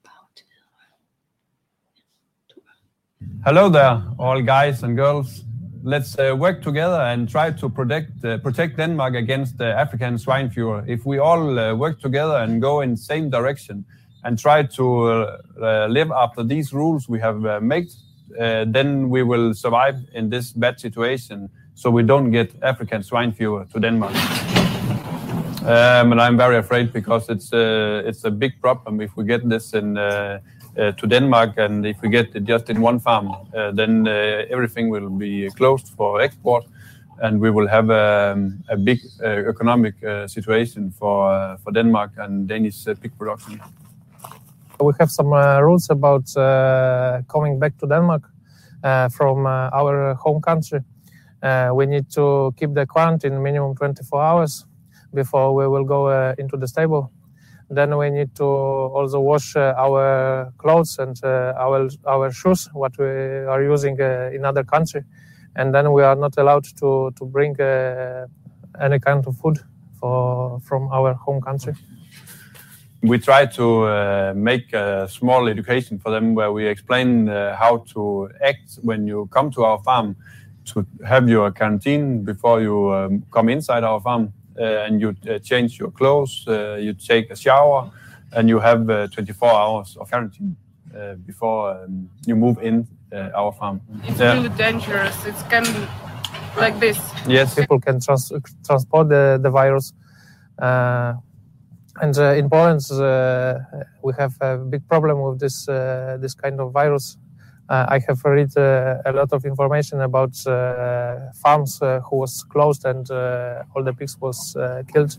Hello there, all guys and girls. Let's uh, work together and try to protect uh, protect Denmark against the African swine fever. If we all uh, work together and go in the same direction and try to uh, uh, live after these rules we have uh, made, uh, then we will survive in this bad situation, so we don't get African swine fever to Denmark. Um, and I'm very afraid, because it's uh, it's a big problem if we get this in. Uh, Uh, to Denmark, and if we get it just in one farm, uh, then uh, everything will be closed for export, and we will have a, a big uh, economic uh, situation for uh, for Denmark and Danish uh, pig production. We have some uh, rules about uh, coming back to Denmark uh, from uh, our home country. Uh, we need to keep the quarantine minimum twenty-four hours before we will go uh, into the stable. Then we need to also wash uh, our clothes and uh, our our shoes, what we are using uh, in other country. And then we are not allowed to to bring uh, any kind of food for from our home country. we try to uh, make a small education for them where we explain uh, how to act when you come to our farm, to have your quarantine before you um, come inside our farm, uh, and you uh, change your clothes, uh, you take a shower, and you have uh, twenty-four hours of quarantine uh, before um, you move in uh, our farm. It's yeah. really dangerous. It can like this. Yes. People can trans transport the, the virus. Uh, and uh, in Poland, uh, we have a big problem with this uh, this kind of virus. Uh, I have read uh, a lot of information about uh, farms uh, who was closed and uh, all the pigs was uh, killed.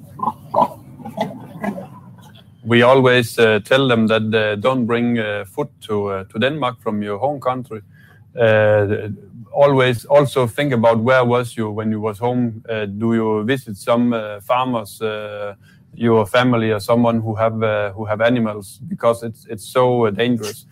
We always uh, tell them that uh, don't bring uh, food to uh, to Denmark from your home country. Uh, always also think about where was you when you was home. Uh, do you visit some uh, farmers, uh, your family, or someone who have uh, who have animals? Because it's it's so uh, dangerous.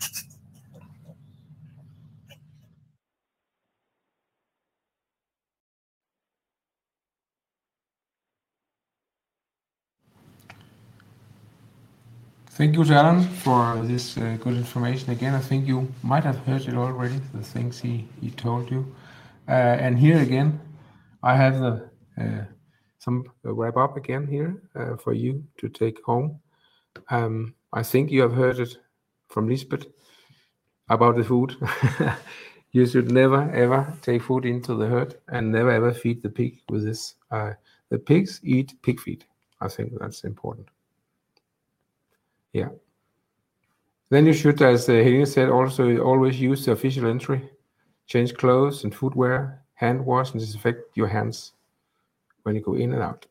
Thank you to Alan for this uh, good information again. I think you might have heard it already, the things he, he told you. Uh, and here again, I have the uh, some uh, wrap up again here uh, for you to take home. Um, I think you have heard it from Lisbeth about the food. You should never ever take food into the herd and never ever feed the pig with this. Uh, the pigs eat pig feed. I think that's important. Yeah. Then you should, as uh, Helene said, also always use the official entry, change clothes and footwear, hand wash and disinfect your hands when you go in and out.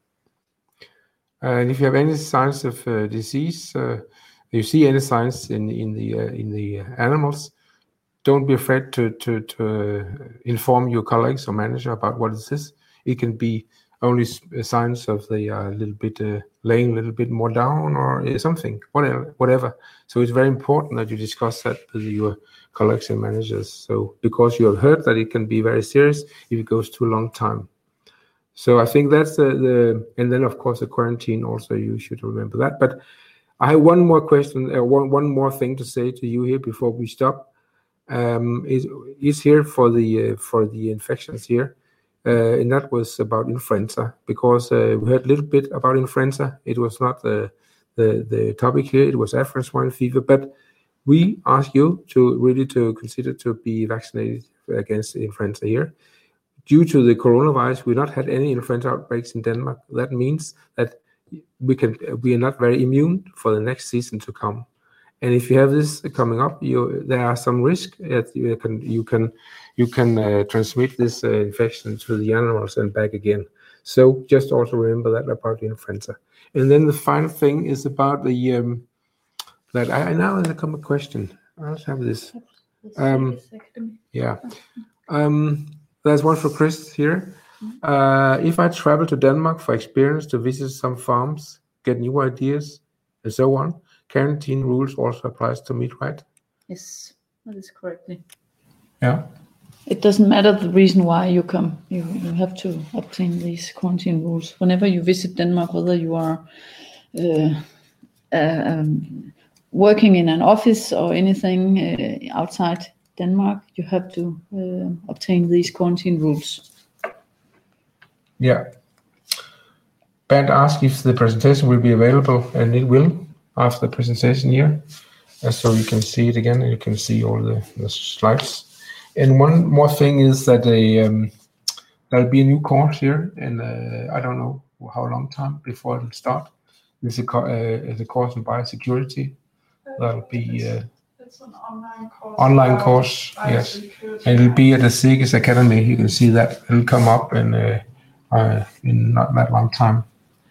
Uh, and if you have any signs of uh, disease, uh, you see any signs in in the uh, in the uh, animals, don't be afraid to to to uh, inform your colleagues or manager about what this is. It can be only signs of the uh, little bit uh, laying a little bit more down or uh, something, whatever, whatever. So it's very important that you discuss that with your colleagues and managers. So because you have heard that it can be very serious if it goes too long time. So I think that's the, the and then of course the quarantine also, you should remember that. But I have one more question, uh, one one more thing to say to you here before we stop. Um, is is here for the uh, for the infections here. Uh, and that was about influenza, because uh, we heard a little bit about influenza. It was not the, the the topic here. It was African swine fever. But we ask you to really to consider to be vaccinated against influenza here. Due to the coronavirus, we not had any influenza outbreaks in Denmark. That means that we can we are not very immune for the next season to come. And if you have this coming up, you there are some risk that you can you can you can uh, transmit this uh, infection to the animals and back again. So just also remember that about the influenza. And then the final thing is about the um, that I, I now there come a question. I'll have this. Um, yeah, um, there's one for Chris here. Uh, if I travel to Denmark for experience to visit some farms, get new ideas, and so on, quarantine rules also applies to me, right? Yes, that is correctly. Yeah. It doesn't matter the reason why you come. You you have to obtain these quarantine rules whenever you visit Denmark, whether you are uh, uh, um, working in an office or anything uh, outside Denmark. You have to uh, obtain these quarantine rules. Yeah. Bernd asked if the presentation will be available, and it will after the presentation here. Uh, so you can see it again, and you can see all the, the slides. And one more thing is that a, um, there'll be a new course here, and uh, I don't know how long time before it'll start. It's a, co uh, a course in biosecurity. That'll be uh, it's an online course. Online course, yes. And it'll be at the SIGAS Academy. You can see that it'll come up in uh, uh, in not that long time.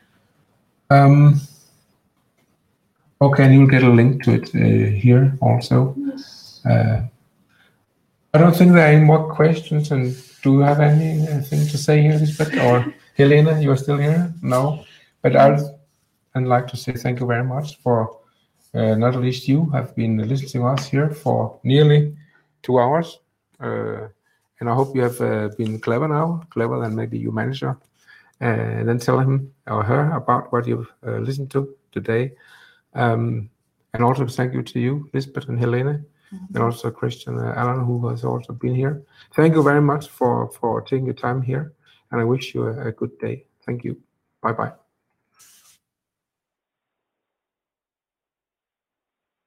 Um, okay, and you'll get a link to it uh, here also. Yes. Uh, I don't think there are any more questions. And do you have anything to say here, Lisbeth? Or Helena, you are still here? No. But I'd, I'd like to say thank you very much for, uh, not least you have been listening to us here for nearly two hours. Uh, and I hope you have uh, been clever now, clever than maybe your manager. Uh, and then tell him or her about what you've uh, listened to today. Um, and also thank you to you, Lisbeth and Helene, mm-hmm. and also Christian uh, Alan, who has also been here. Thank you very much for, for taking your time here, and I wish you a, a good day. Thank you. Bye-bye.